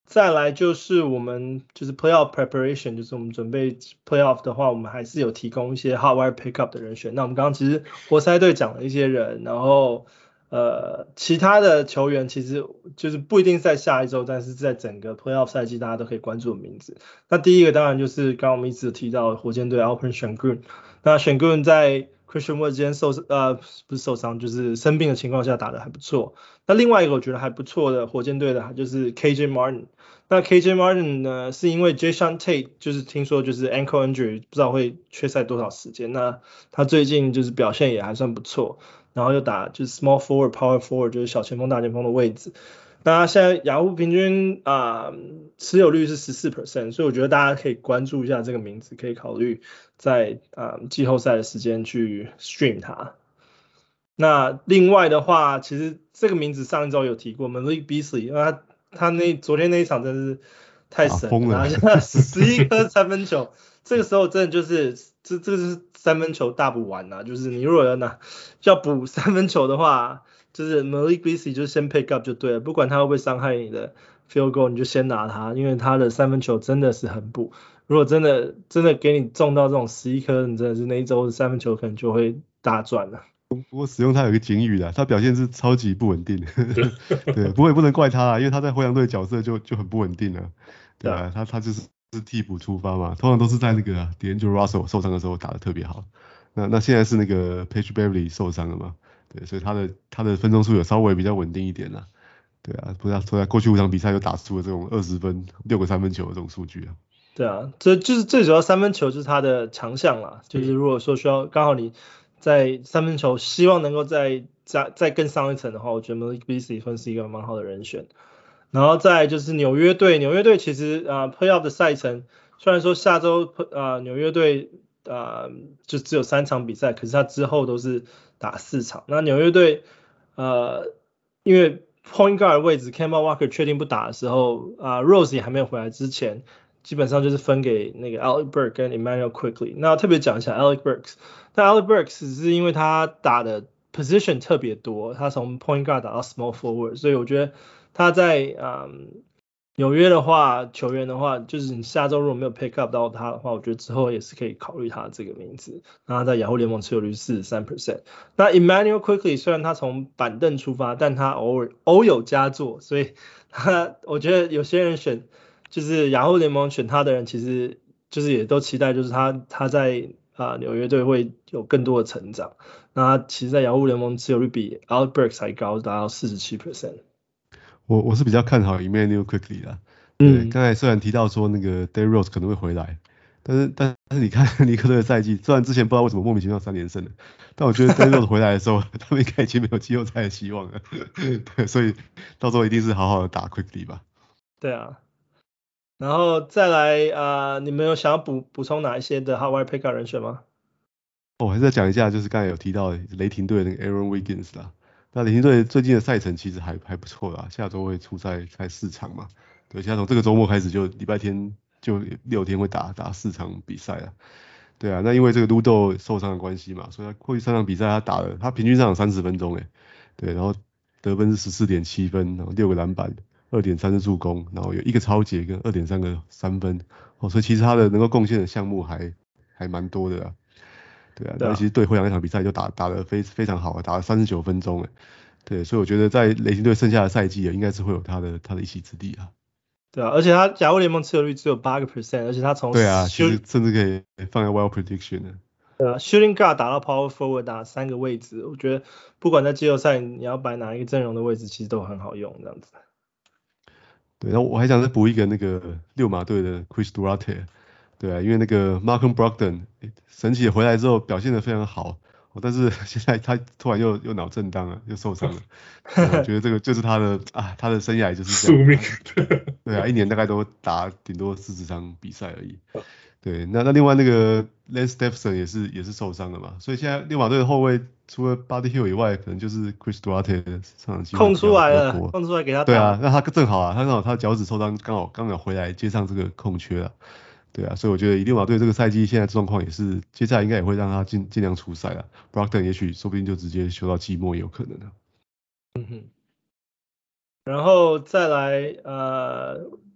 S1: 再來就是我們就是 playoff preparation， 就是我們準備 playoff 的話，我們還是有提供一些 hot wire pickup 的人選。那我們剛剛其實活塞隊講了一些人，然後其他的球員其實就是不一定在下一周，但是在整個 playoff 賽季大家都可以關注的名字。那第一個當然就是剛剛我們一直提到的火箭隊 Alperen Sengun。那 Sengun 在 Christian Wood 今天不是受傷，就是生病的情況下打得還不錯。那另外一個我覺得還不錯的火箭隊的就是 KJ Martin。那 KJ Martin 呢，是因為 Jae'Sean Tate 就是聽說就是 ankle injury 不知道會缺賽多少時間。那他最近就是表現也還算不錯，然後又打就是 small forward power forward 就是小前鋒大前鋒的位置。那現在雅虎平均持有率是 14%， 所以我覺得大家可以關注一下這個名字，可以考慮在季後賽的時間去 stream 它。那另外的話，其實這個名字上一周有提過 Malik Beasley， 因為他昨天那一場真是太神了，11顆三分球，這個時候真的就是這個是三分球大補丸啊，就是你如果要補三分球的話，就是 Malik Beasley 就先 pick up 就對了，不管他會不會傷害你的 field goal， 你就先拿他，因為他的三分球真的是很補。如果真的給你中到這種11顆，你真的是那一周的三分球可能就會大賺了。
S2: 不過使用他有一個警語啦，他表現是超級不穩定對，不過也不能怪他啦，因為他在灰狼隊角色就很不穩定了，對啊，他就是替補出發嘛，通常都是在那個D'Angelo Russell 受傷的時候打得特別好，那現在是那個 Patrick Beverley 受傷了嘛，對，所以他的分鐘數有稍微比較穩定一點啦，對啊，不然說在過去5場比賽就打出了這種20分6個三分球的這種數據啊。
S1: 對啊，這就是最主要三分球就是他的強項啦，就是如果說需要剛好你在三分球希望能夠再更上一層的話，我覺得 Malik Beasley 算是一個蠻好的人選。然後再來就是紐約隊其實playoff 的賽程雖然說下周紐約隊就只有3場比賽，可是他之後都是打4場。那紐約隊因為 point guard 的位置 Kemba Walker 確定不打的時候Rose 也還沒有回來之前，基本上就是分給那個 Alec Burks 跟 Immanuel Quickley。那特別講一下 Alec Burks， 但 Alec Burks 是因為他打的 position 特別多，他從 point guard 打到 small forward， 所以我覺得他在紐約的話，球員的話，就是你下周如果沒有 pick up 到他的話，我覺得之後也是可以考慮他這個名字。那他在雅虎聯盟持有率 43%。那 Immanuel Quickley 雖然他從板凳出發，但他偶有佳作，所以我覺得有些人選就是雅虎聯盟選他的人，其實就是也都期待就是他在紐約隊會有更多的成長。那他其實在雅虎聯盟持有率比 Alec Burks 還高，達到 47%。
S2: 我是比較看好 Immanuel Quickley 啦。對，剛才雖然提到說那個 Derrick Rose 可能會回來，但是你看尼克隊的賽季，雖然之前不知道為什麼莫名其妙3連勝了，但我覺得 Derrick Rose 回來的時候，他們應該已經沒有季後賽的希望了。對，所以到時候一定是好好的打 Quickley 吧。
S1: 對啊，然後再來你們有想要補充哪一些的 hot wire pickup 人選嗎？
S2: 我還是再講一下，就是剛才有提到雷霆隊的那個 Aaron Wiggins 啦。那雷霆隊最近的賽程其實還不錯啦，下周會出賽4場嘛。對，現在從這個周末開始就禮拜天就6天會打4場比賽啦。對啊，那因為這個 Ludo 受傷的關係嘛，所以他過去3場比賽他平均上場30分鐘對，然後得分是 14.7 分，然後6個籃板 2.3 助攻，然後有1個抄截跟 2.3 個三分所以其實他的能夠貢獻的項目還蠻多的啦。對啊，那其實對灰狼那場比賽就打得非常好，打了39分鐘對，所以我覺得在雷霆隊剩下的賽季應該是會有他的一席之地啊。
S1: 對啊，而且他雅虎聯盟持有率只有 8%， 而且他從
S2: 对啊，其實甚至可以放在 wild prediction 的。
S1: 对啊 ，shooting guard 打到 power forward 打3個位置，我覺得不管在季後賽你要擺哪一個陣容的位置，其實都很好用這樣子。
S2: 對，然後我還想再補一個那個溜馬隊的 Chris Duarte。對啊，因為那個 Malcolm Brogdon 神奇的回來之後表現得非常好，但是現在他突然又腦震盪了，又受傷了。我覺得這個就是他的生涯就是這樣。宿命。對啊，一年大概都打頂多40場比賽而已。對，那另外那個 Lance Stephenson 也是受傷了嘛，所以現在溜馬隊的後衛除了 Buddy Hield 以外，可能就是 Chris Duarte 上場機會比較多。空出來了，空出來給他打。對啊，那他正好他正好他腳趾受傷，剛好回來接上這個空缺了。對啊，所以我覺得以溜馬隊這個賽季現在狀況也是，接下來應該也會讓他盡量出賽了。Brogdon 也許說不定就直接休到季末也有可能的。
S1: 然後再來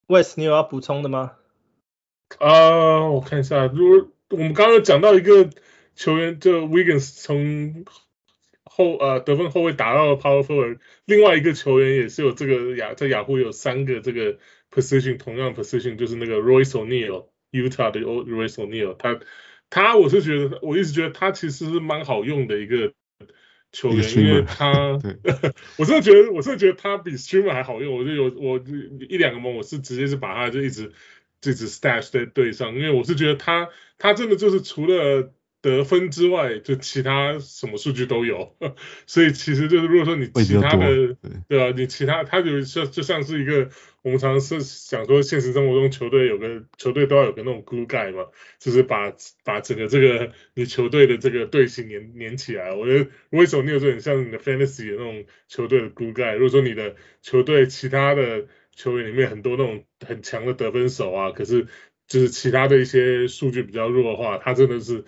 S1: Wes， 你有要補充的嗎？
S3: 我看一下，如果我們剛剛有講到一個球員，就 Wiggins 從得分後衛打到了 Power Forward， 另外一個球員也是有這個在雅虎有3個這個 position， 同樣 position 就是那個 Royce O'Neal，Utah 的 Royce O'Neal， 他我一直覺得他其實是蠻好用的一個球員，因為他我真的覺得他比 Streamer 還好用，我一兩個盟我是直接是把他就一直 stash 在隊上，因為我是覺得他真的就是除了得分之外，就其他什麼數據都有，所以其實就是如果說你其他的，對啊，你其他他就像是一個我們常常是想說現實生活中球隊都要有個那種 glue guy 嘛，就是把整個這個你球隊的這個隊形粘起來。我覺得為什麼你有这種像你的 fantasy 的那種球隊的 glue guy， 如果說你的球隊其他的球員裡面很多那種很強的得分手啊，可是就是其他的一些数据比較弱的話，他真的是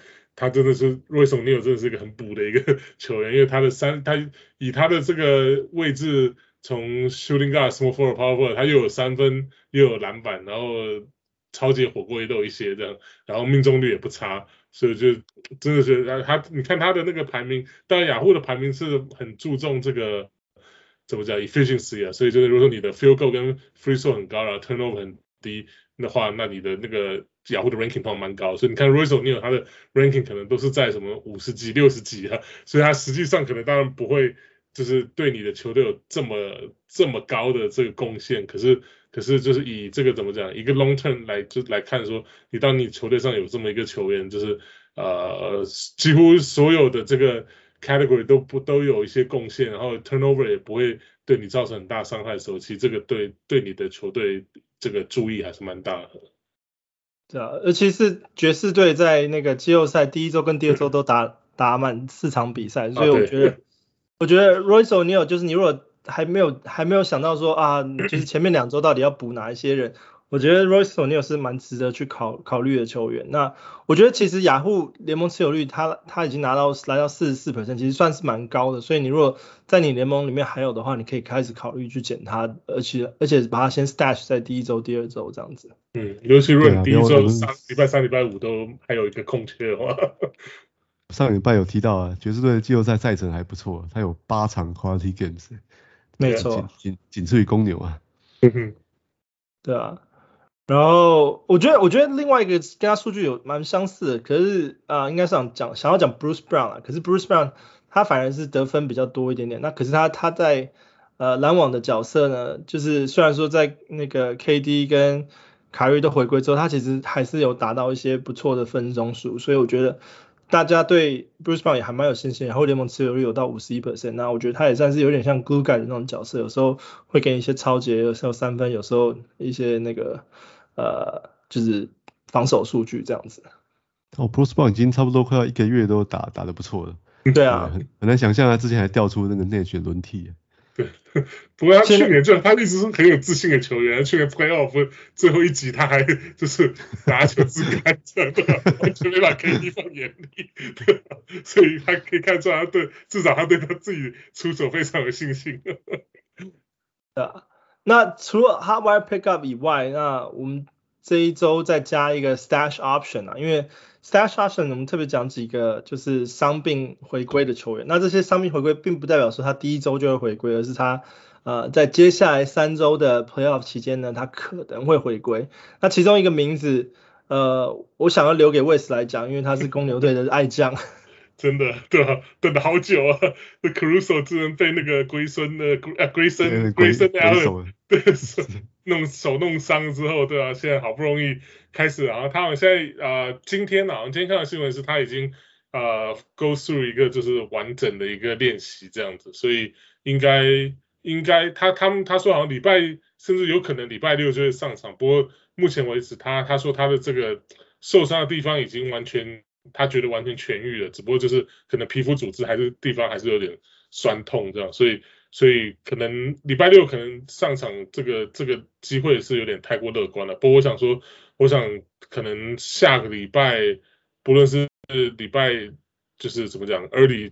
S3: Royce O'Neal 真的是一個很補的一個球員，因為他以他的這個位置，從 shooting guard、small forward、power forward， 他又有3分又有籃板，然後超級火鍋也都有一些這樣，然後命中率也不差，所以就真的是你看他的那個排名，當然雅虎的排名是很注重這個怎麼講 efficiency 啊，所以就是如果說你的 field goal 跟 free throw 很高，然後 turnover 很低的話，那你的那個雅虎的 ranking 跑蠻高，所以你看 Royce O'Neal 他的 ranking 可能都是在什麼50幾、60幾啊，所以他實際上可能當然不會就是對你的球隊有這麼高的這個貢獻，可是就是以這個怎麼講一個 long term 來看說，你當你球隊上有這麼一個球員，就是幾乎所有的這個 category 都有一些貢獻，然後 turnover 也不會對你造成很大傷害的時候，其實這個對你的球隊這個注意還是蠻大的。
S1: 對啊，尤其是爵士隊在那個季後賽第一周跟第二周都打滿4場比賽，所以我覺得 Royce O'Neal 就是你如果還沒有想到說啊，就是前面2周到底要補哪一些人，我覺得 Royce O'Neal 是蠻值得去考慮的球員。那我覺得其實雅虎聯盟持有率他已經來到 44%， 其實算是蠻高的，所以你如果在你聯盟裡面還有的話，你可以開始考慮去撿他，而且把它先 stash 在第1周、第2周這樣子。
S3: 尤其如果你第1周禮拜3、禮拜5都還有一個空缺的話。
S2: 上禮拜有提到啊，爵士隊的季後賽賽程還不錯，他有8場 quality games，
S1: 沒錯，
S2: 僅次於公牛啊。
S1: 對啊，然後我覺得另外一個跟他數據有蠻相似的，可是應該是想要講 Bruce Brown 啊，可是 Bruce Brown 他反而是得分比較多一點點，那可是他在籃網的角色呢，就是雖然說在那個 KD 跟凱瑞都回歸之後，他其實還是有達到一些不錯的分鐘數，所以我覺得大家對 Bruce Brown 也還蠻有信心，然後聯盟持有率有到 51%， 那我覺得他也算是有點像 glue guy 的那種角色，有時候會給你一些抄截，有時候3分，有時候一些那個就是防守數據這樣子。
S2: Bruce Brown 已經差不多快要1個月都打得不錯了。
S1: 對啊，
S2: 很難想象他之前還調出那個內選輪替。
S3: 對，不過他去年他一直是很有自信的球員，去年 playoff 最後一集他還就是拿球自乾這樣，完全沒把 KD 放眼裡，所以他可以看出來至少他對他自己出手非常有信心。
S1: 对啊，那除了 hot wire pickup 以外，那我們這一周再加一個 stash option 啊，因為 stash option 我們特別講幾個就是傷病回歸的球員，那這些傷病回歸並不代表說他第1周就會回歸，而是他在接下來3周的 playoff 期間呢，他可能會回歸。那其中一個名字我想要留給 Wes 來講，因為他是公牛隊的愛將。
S3: 真的，對啊，等了好久啊！那 Caruso 只能被那個Grayson Allen 對手弄傷之後，對啊，現在好不容易開始，然後他好像現在今天看到的新聞是他已經go through 一個就是完整的一個練習這樣子，所以應該他說好像甚至有可能禮拜6就會上場，不過目前為止他說他的這個受傷的地方已經他覺得完全痊癒了，只不過就是可能皮膚組織地方還是有點酸痛這樣，所以可能禮拜6可能上場這個機會是有點太過樂觀了。不過我想可能下個禮拜不論是禮拜就是怎麼講 early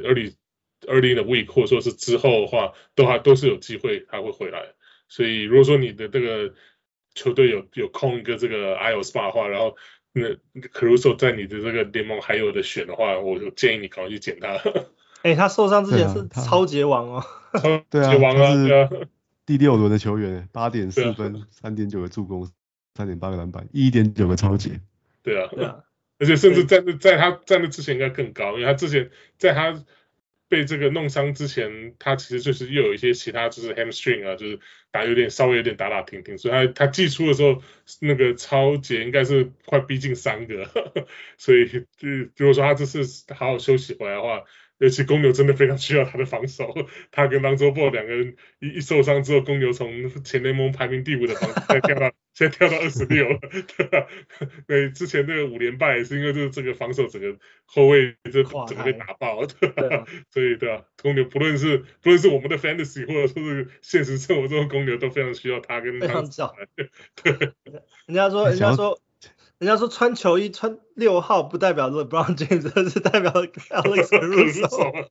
S3: in the week 或者說是之後的話，都是有機會他會回來。所以如果說你的這個球隊有空一個這個 IL spot 的話，然後那 Caruso 在你的這個聯盟還有的選的話，我就建議你趕快去撿他。
S1: 他受傷之前是超級王哦，
S2: 對啊，
S3: 王啊，
S2: 對啊，第6輪的球員，8.4分，3.9個助攻，3.8個籃板，1.9個抄截。
S3: 对啊，而且甚至在他在那之前應該更高，因为他之前在他被这個弄傷之前，他其實就是又有一些其他就是 hamstring 啊，就是稍微有點打停停，所以他季初的時候那個抄截應該是快逼近3個，所以如果說他這次好好休息回來的話，尤其公牛真的非常需要他的防守，他跟Lonzo Ball 兩個人一受傷之後，公牛從前聯盟排名第5的防守現在跳到26了，對吧？對，之前那個5連敗也是因為就是這個防守整個後衛就整個被打爆，對吧？所以對吧？公牛不論是我們的 fantasy 或者說是現實生活中的公牛都非常需要他跟Lonzo。對，
S1: 人家說穿球衣穿6號不代表 LeBron James， 而是代表 Alex Caruso。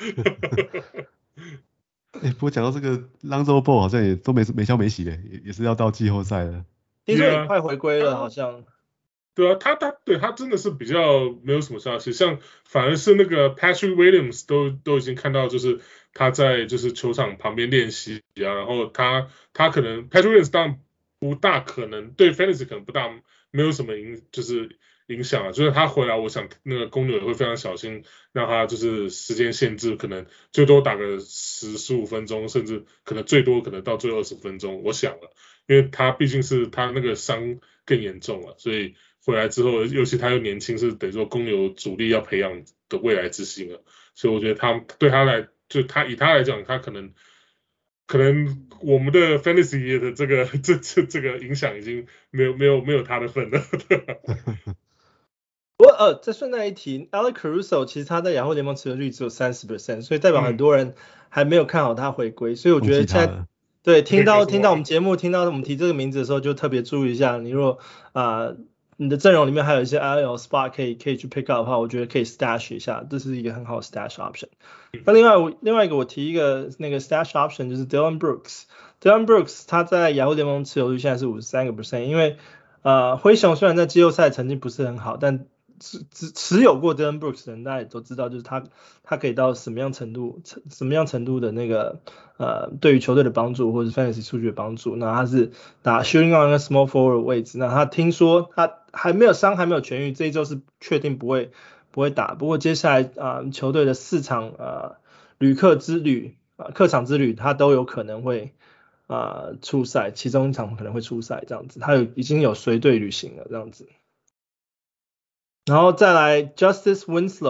S2: 不過講到這個 Lonzo Ball 好像也都沒消沒息的，也是要到季後賽了。
S1: 聽說也快回歸了，好像。
S3: 對啊，他真的是比較沒有什麼消息，像反而是那個 Patrick Williams 都已經看到，就是他在就是球場旁邊練習啊，然後他可能 Patrick Williams 當然不大可能對 Fantasy 可能不大沒有什麼影響啊，就是他回來，我想那個公牛也會非常小心，讓他就是時間限制，可能最多打個10-15分鐘，甚至可能最多可能到最後20分鐘，我想了，因為他畢竟是他那個傷更嚴重了，所以回來之後，尤其他又年輕，是等於說公牛主力要培養的未來之星了，所以我覺得對他來，就以他來講，他可能我們的 fantasy 的這個影響已經沒有他的份了。
S1: 不過再順帶一提 ，Alex Caruso 其實他在雅虎聯盟持有率只有30%，所以代表很多人還沒有看好他回歸，所以我覺得現在對聽到我們節目，聽到我們提這個名字的時候，就特別注意一下，你如果你的陣容裡面還有一些 IL spot 可以去 pick up 的話，我覺得可以 stash 一下，這是一個很好的 stash option。那另外一個我提一個那個 stash option 就是 Dillon Brooks。Dillon Brooks 他在雅虎聯盟持有率現在是53%，因為灰熊雖然在季後賽成績不是很好，但持有過 Dillon Brooks 的人大家也都知道，就是他可以到什麼樣程度的那個對於球隊的幫助或者 fantasy 數據的幫助。那他是打 shooting on 跟 small forward 的位置，那他聽說他還沒有痊癒，這一周是確定不會打。不過接下來球隊的4場客場之旅他都有可能會出賽，其中一場可能會出賽這樣子，他已經有隨隊旅行了這樣子。然後再來 Justice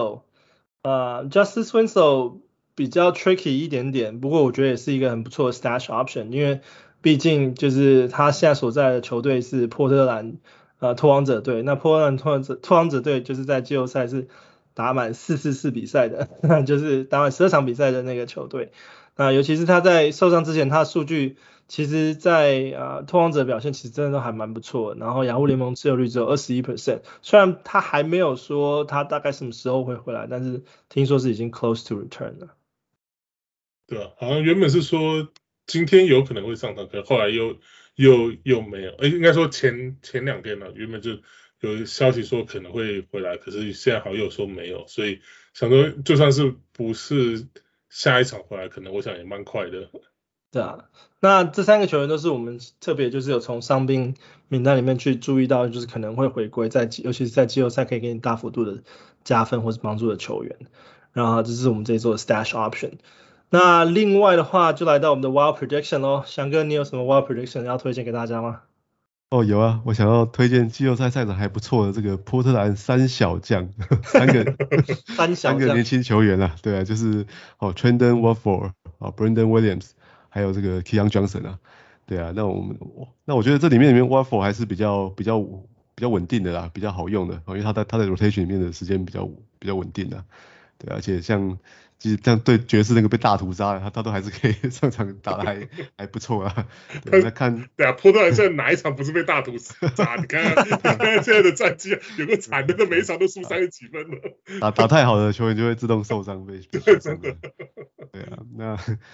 S1: Winslow，Justice Winslow 比較 tricky 一點點，不過我覺得也是一個很不錯的 stash option， 因為畢竟就是他現在所在的球隊是波特蘭拓荒者隊，那波特蘭拓荒者隊就是在季後賽是打滿444比賽的，就是打滿12場比賽的那個球隊。那尤其是他在受傷之前，他的數據其實在拓荒者表現其實真的都還蠻不錯的，然後雅虎聯盟持有率只有 21%， 雖然他還沒有說他大概什麼時候會回來，但是聽說是已經 close to return 了。
S3: 對啊，好像原本是說今天有可能會上場，可後來又沒有，應該說前2天了，原本就有消息說可能會回來，可是現在好像又說沒有，所以想說就算是不是下一場回來，可能我想也蠻快的。
S1: 對啊，那這3個球員都是我們特別就是有從傷兵名單裡面去注意到，就是可能會回歸尤其是在季後賽可以給你大幅度的加分或是幫助的球員。然後這是我們這一周的 stash option。那另外的話就來到我們的 wild prediction 咯，翔哥你有什麼 wild prediction 要推薦給大家嗎？
S2: 有啊，我想要推薦季後賽賽场還不錯的這個波特蘭3小將，3個年輕球員啊，對啊，就是Trendon Watford、Brandon Williams， 還有這個 Keon Johnson 啊，對啊，那我覺得這裡面 Watford 還是比較穩定的啦，比較好用的，因為他在 rotation 裡面的時間比較穩定的，對啊，而且其實這樣對爵士那個被大屠殺，他都還是可以上場打得還不錯啊。對啊，
S3: 波特蘭現在哪一場不是被大屠殺？你看現在的戰績有個慘的，每一場都輸30幾分了。
S2: 打太好的球員就會自動受傷被。對啊，那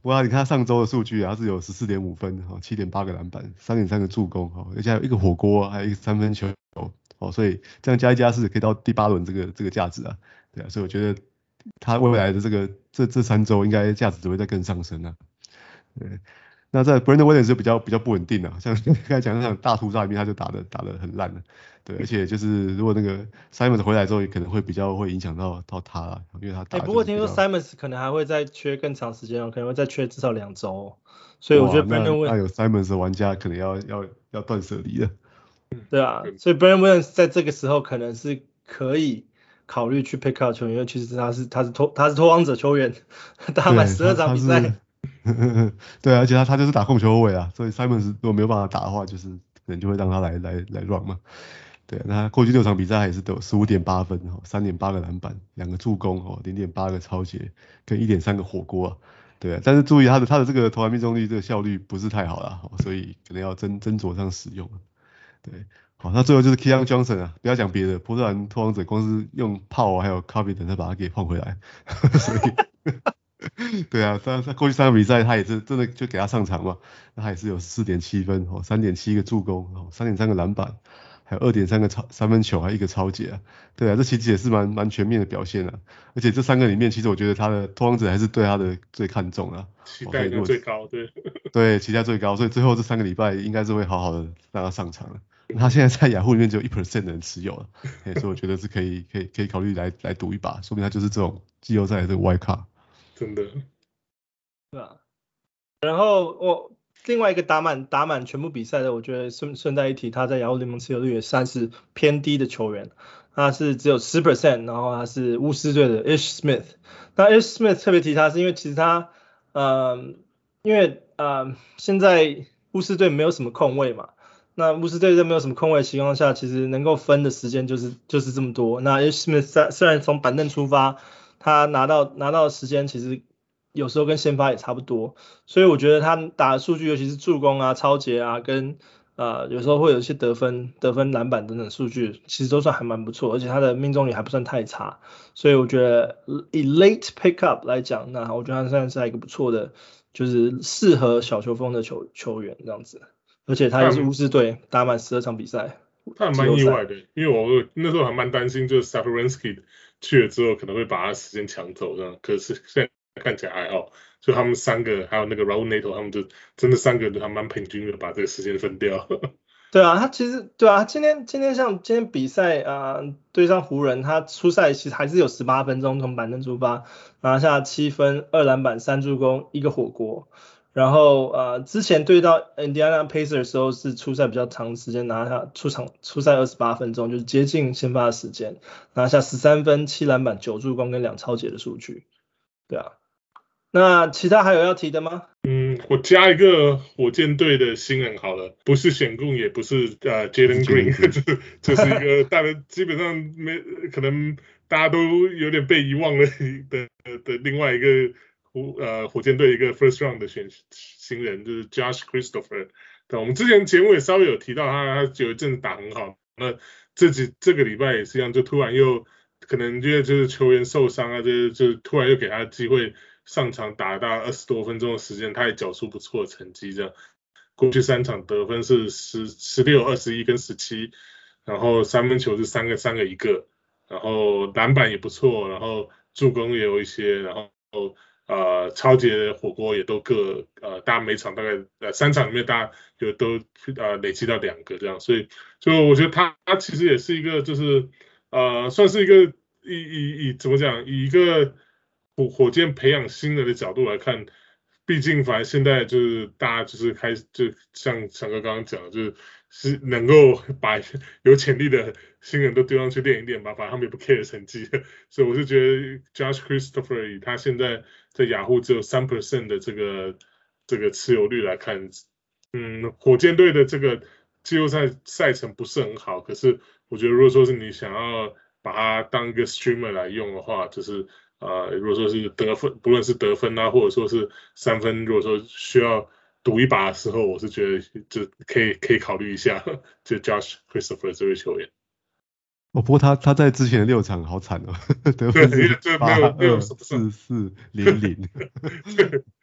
S2: 不過你看他上周的數據啊，他是有 14.5 分7.8個籃板 3.3 個助攻而且還有一個火鍋還有一個三分球所以這樣加一加是可以到第8輪這個價值啊，對啊，所以我覺得他未來的這3周應該價值只會再更上升啊，對。那在 Brandon Williams 就比較不穩定了，像剛才講那場大屠殺裡面他就打得很爛了，對，而且就是如果那個 Simons 回來之後也可能會比較會影響到他啦，因為他打
S1: 不過聽說 Simons 可能還會再缺更長時間可能會再缺至少2周，所以我覺得 Brandon Williams
S2: 那有 Simons 的玩家可能要斷捨離了，
S1: 對啊，所以 Brandon Williams 在這個時候可能是可以考慮去 pick up 球員，因為其實他是拓荒者球員，打滿12場比賽。
S2: 對啊，而且他就是打控球後衛啊，所以 Simons 如果沒有辦法打的話，就是可能就會讓他來 run 嘛。對啊，那他過去6場比賽也是得 15.8 分3.8個籃板2個助攻0.8個抄截跟 1.3個火鍋啊。對啊，但是注意他的這個投籃命中率这個效率不是太好啦，所以可能要斟酌上使用。對，好，那最後就是 Keon Johnson 啊，不要講別的，波特蘭拓荒者光是用炮還有 Covington 才把他給換回來，所以。對啊，他過去3個比賽他也是真的就給他上場嘛，那他也是有 4.7 分3.7個助攻3.3個籃板，還有 2.3 個三分球，還有1個抄截啊。對啊，這其實也是蠻全面的表現啊。而且這3個裡面，其實我覺得他的拓荒者還是對他的最看重啊，
S3: 期待最高，對。
S2: 對，期待最高，所以最後這3個禮拜應該是會好好的讓他上場了。他現在在雅虎裡面只有 1% 的人持有了，所以我覺得是可以考慮來賭一把，說明他就是這種季後賽的這個 wild card。
S3: 真的，
S1: 對啊。然後另外一個打滿全部比賽的，我覺得順帶一提，他在雅虎聯盟持有率也算是偏低的球員，他是只有 10%， 然後他是巫師隊的 Ish Smith。那 Ish Smith 特別提他是因為其實他現在巫師隊沒有什麼控衛嘛，那巫師隊在沒有什麼控衛的情況下，其實能夠分的時間就是這麼多。那 Ish Smith 雖然從板凳出發，他拿到的時間其實有時候跟先發也差不多，所以我覺得他打的數據，尤其是助攻啊、抄截啊，跟有時候會有一些得分、籃板等等數據，其實都算還蠻不錯，而且他的命中率還不算太差，所以我覺得以 late pickup 來講，那我覺得他算是一個不錯的，就是適合小球風的球員這樣子，而且他也是巫師隊打滿12場比賽，
S3: 他還蠻意外的，因為我那時候還蠻擔心，就是 Satoransky 去了之後可能會把他時間搶走這樣，可是現在看起來還好，所以他們3個還有那個 Raul Neto 他們就真的3個人都還蠻平均的把這個時間分掉。
S1: 對啊，他其實對啊，今天比賽對上湖人，他出賽其實還是有18分鐘從板凳出發，拿下7分2籃板3助攻1個火鍋。然後之前對到 Indiana Pacers 的時候是出賽比較長時間，拿下出賽28分鐘，就是接近先發的時間，拿下13分7籃板9助攻跟2抄截的數據。對啊，那其他還有要提的嗎？
S3: 我加一個火箭隊的新人好了，不是選供也不是Jalen Green， 就是一個大家基本上可能大家都有點被遺忘了的另外一個。火箭隊一個 first round 的新人就是 Josh Christopher， 對，我們之前節目也稍微有提到他有一陣子打很好，那這個禮拜也是一樣，就突然又可能因為就是球員受傷啊，就突然又給他機會上場打到20多分鐘的時間，他也繳出不錯的成績，這樣過去3場得分是16、21跟17，然後三分球是3個1個，然後籃板也不錯，然後助攻也有一些，然後超級的火鍋也都各大家每場大概3場裡面大家就都累積到2個這樣，所以我覺得他其實也是一個就是算是一個怎麼講，以一個火箭培養新人的角度來看，畢竟反正現在就是大家就是開始就像翔哥剛剛講的，就是能夠把有潛力的新人都丟上去練一練吧，反正他們也不 care 成績，所以我是覺得 Josh Christopher 他現在在雅虎只有 3% 的這個持有率來看，火箭隊的這個季後賽程不是很好，可是我覺得如果說是你想要把它當一個 streamer 來用的話，就是如果說是得分，不論是得分啊，或者說是3分，如果說需要賭一把的時候，我是覺得就可以考慮一下，就 Josh Christopher 這位球員。
S2: 不過他在之前的6場好慘哦，得分是8-2-4-4-0-0。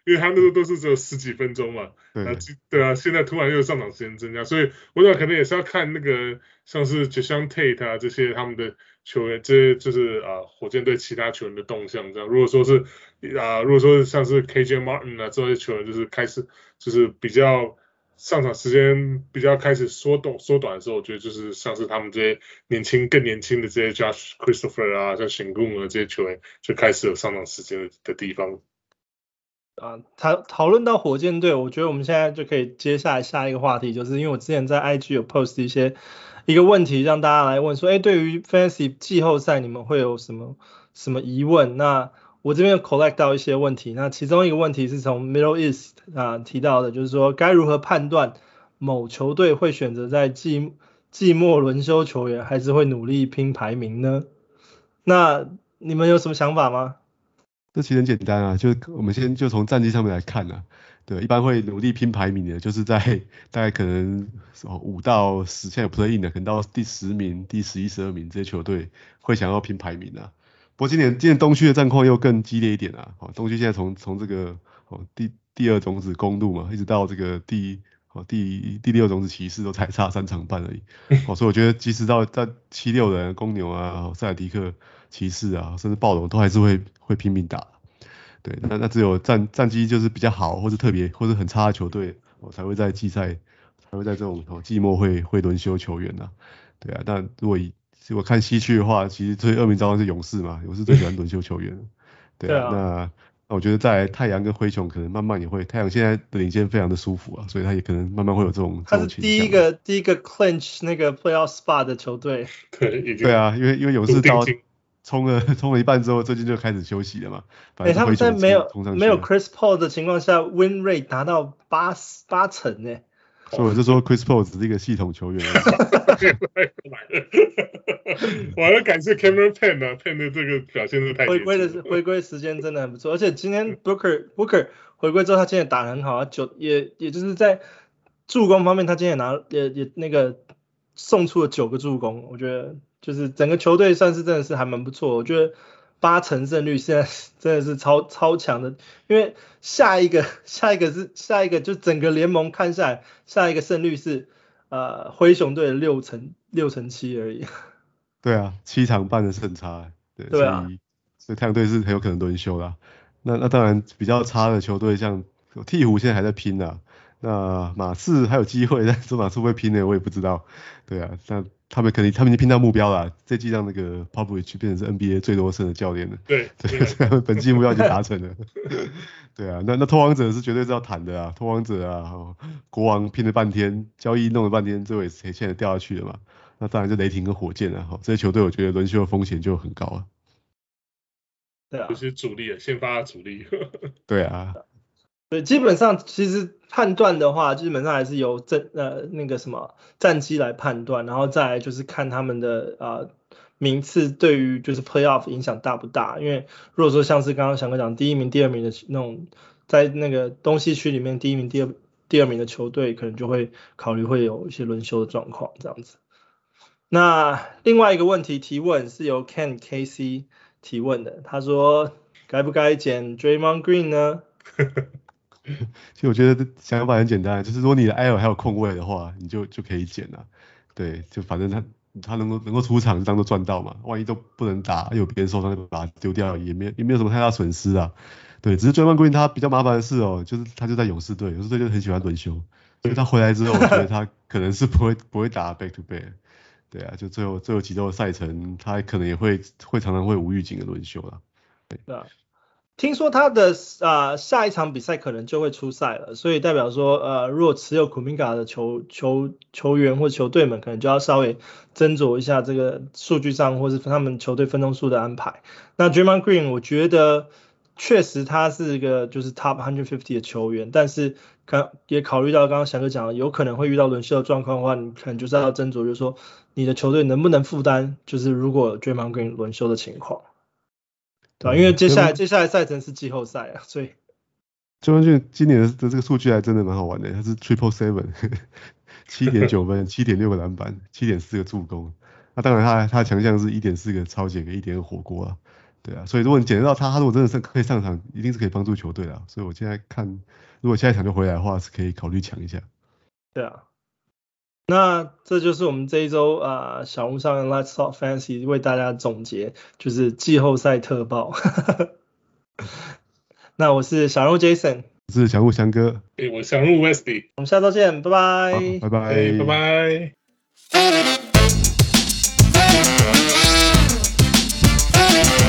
S3: 因為他那時候都是只有10幾分鐘嘛，對啊，現在突然又上場时間增加，所以我想可能也是要看那個像是 Jason Tate 啊這些他們的球員，這些就是火箭隊其他球員的動向這樣。如果說是像是 KJ Martin 啊這些球員就是開始就是比較上場時間比較開始縮短的時候，我覺得就是像是他們這些更年輕的這些 Josh Christopher 啊，像Sengun啊這些球員就開始有上場時間的地方。
S1: 討論到火箭隊，我覺得我們現在就可以接下來下一個話題，就是因為我之前在 IG 有 post 一個問題讓大家來問說，對於 Fantasy 季後賽你們會有什麼疑問？那我這邊有 collect 到一些問題，那其中一個問題是從 Middle East 提到的，就是說該如何判斷某球隊會選擇在季末輪休球員，還是會努力拼排名呢？那你們有什麼想法嗎？
S2: 這其實很簡單啊，就是我們先就從戰績上面來看啊，對，一般會努力拼排名的，就是在大概可能5到10，現在有 play in 的，可能到第10名、第11、12名這些球隊會想要拼排名啊。不過今年東區的戰況又更激烈一點啊，東區現在從這個第2種子公鹿嘛，一直到這個第6種子騎士都才差3場半而已，所以我覺得即使到76人公牛啊、塞爾提克、騎士啊，甚至暴龍都還是會拼命打。對，那只有戰績就是比較好或是特別或是很差的球隊，才會在季赛才會在這種季末會輪休球員啊。對啊，但如果看西區的話，其實最惡名昭彰是勇士嘛，勇士最喜歡輪休球員。對啊，那我覺得在太陽跟灰熊可能慢慢也會，太陽現在的領先非常的舒服啊，所以他也可能慢慢會有這種
S1: 他是第一個 clinch 那個 playoff spot 的球隊。
S2: 對啊，因為勇士到衝了一半之後，最近就開始休息了嘛。
S1: 他們在沒有 Chris Paul 的情況下 ，win rate 達到八成呢。
S2: 所以我就說 Chris Paul 只是一個系統球員。
S3: 我還要感謝 Cameron Payne 啊 ，Payne 的這個表現是太
S1: 回歸時間真的很不錯，而且今天 Booker 回歸之後，他今天也打得很好，也就是在助攻方面，他今天也那個送出了9個助攻，我覺得就是整個球隊算是真的是還蠻不錯，我覺得8成勝率現在真的是超強的，因為下一個就整個聯盟看下來，下一個勝率是灰熊隊的6成7而已。
S2: 對啊，7場半的勝差，對啊，所以太陽隊是很有可能輪休啦。那當然比較差的球隊，像鵜鶘現在還在拼啊，那馬刺還有機會，但是馬刺會不會拼呢？我也不知道。對啊，那他們已經拼到目標了，這季讓那個 Popovich 變成是 NBA 最多勝的教練了。對，本季目標已經達成了。對啊，那拓荒者是絕對是要談的啊，拓荒者啊，國王拼了半天，交易弄了半天，最後也現在掉下去了嘛。那當然就雷霆跟火箭啊，這些球隊我覺得輪休的風險就很高啊。
S3: 對啊，就是主力先發主力。
S2: 對啊，
S1: 对，基本上其實判斷的話，基本上還是由那個什麼戰績來判斷，然後再來就是看他們的名次對於就是 playoff 影響大不大。因為如果說像是剛剛翔哥講第1名、第2名的那種，在那個東西區裡面第1名、第二名的球隊，可能就會考慮會有一些輪休的狀況這樣子。那另外一個問題提問是由 Ken KC 提問的，他說該不該撿 Draymond Green 呢？
S2: 其實我覺得想法很簡單，就是如果你的 IL 還有空位的話，你就可以撿了。對，就反正他能夠出場，當做賺到嘛。萬一都不能打，有別人受傷就把他丟掉，也沒有什麼太大損失啊。對，只是 Draymond Green 他比較麻煩的是就是他就在勇士隊，勇士隊就很喜歡輪休，所以他回來之後，我覺得他可能是不會打 back to back。對啊，就最後幾周的賽程，他可能也會常常會無預警的輪休啦。
S1: 對啊，聽說他的下一場比賽可能就會出賽了，所以代表說如果持有 Kuminga 的球員或球隊們，可能就要稍微斟酌一下這個數據上或是他們球隊分鐘數的安排。那 Draymond Green 我覺得確實他是一個就是 Top 150的球員，但是也考慮到剛剛翔哥講的，有可能會遇到輪休的狀況的話，你可能就是要斟酌，就是說你的球隊能不能負擔，就是如果 Draymond Green 輪休的情況，對吧？因為接下來賽程是季後賽啊，所以
S2: Draymond Green 今年的這個數據還真的蠻好玩的，他是 7.9 分，7.6 個籃板，7.4個助攻。那當然他的強項是1.4個抄截跟1.2火鍋啊。 對啊，所以如果你撿得到他如果真的是可以上場，一定是可以幫助球队的。所以我现在看，如果下一場就回來的话，是可以考慮搶一下。
S1: 对啊，那這就是我們這一周小屋上的 Let's Talk Fantasy 為大家總結，就是季後賽特報。那我是小人物 Jason，
S2: 我是小人物翔哥，
S3: 我小人物 Wesley，
S1: 我們下周見，拜拜，
S2: 拜拜，
S3: 拜拜。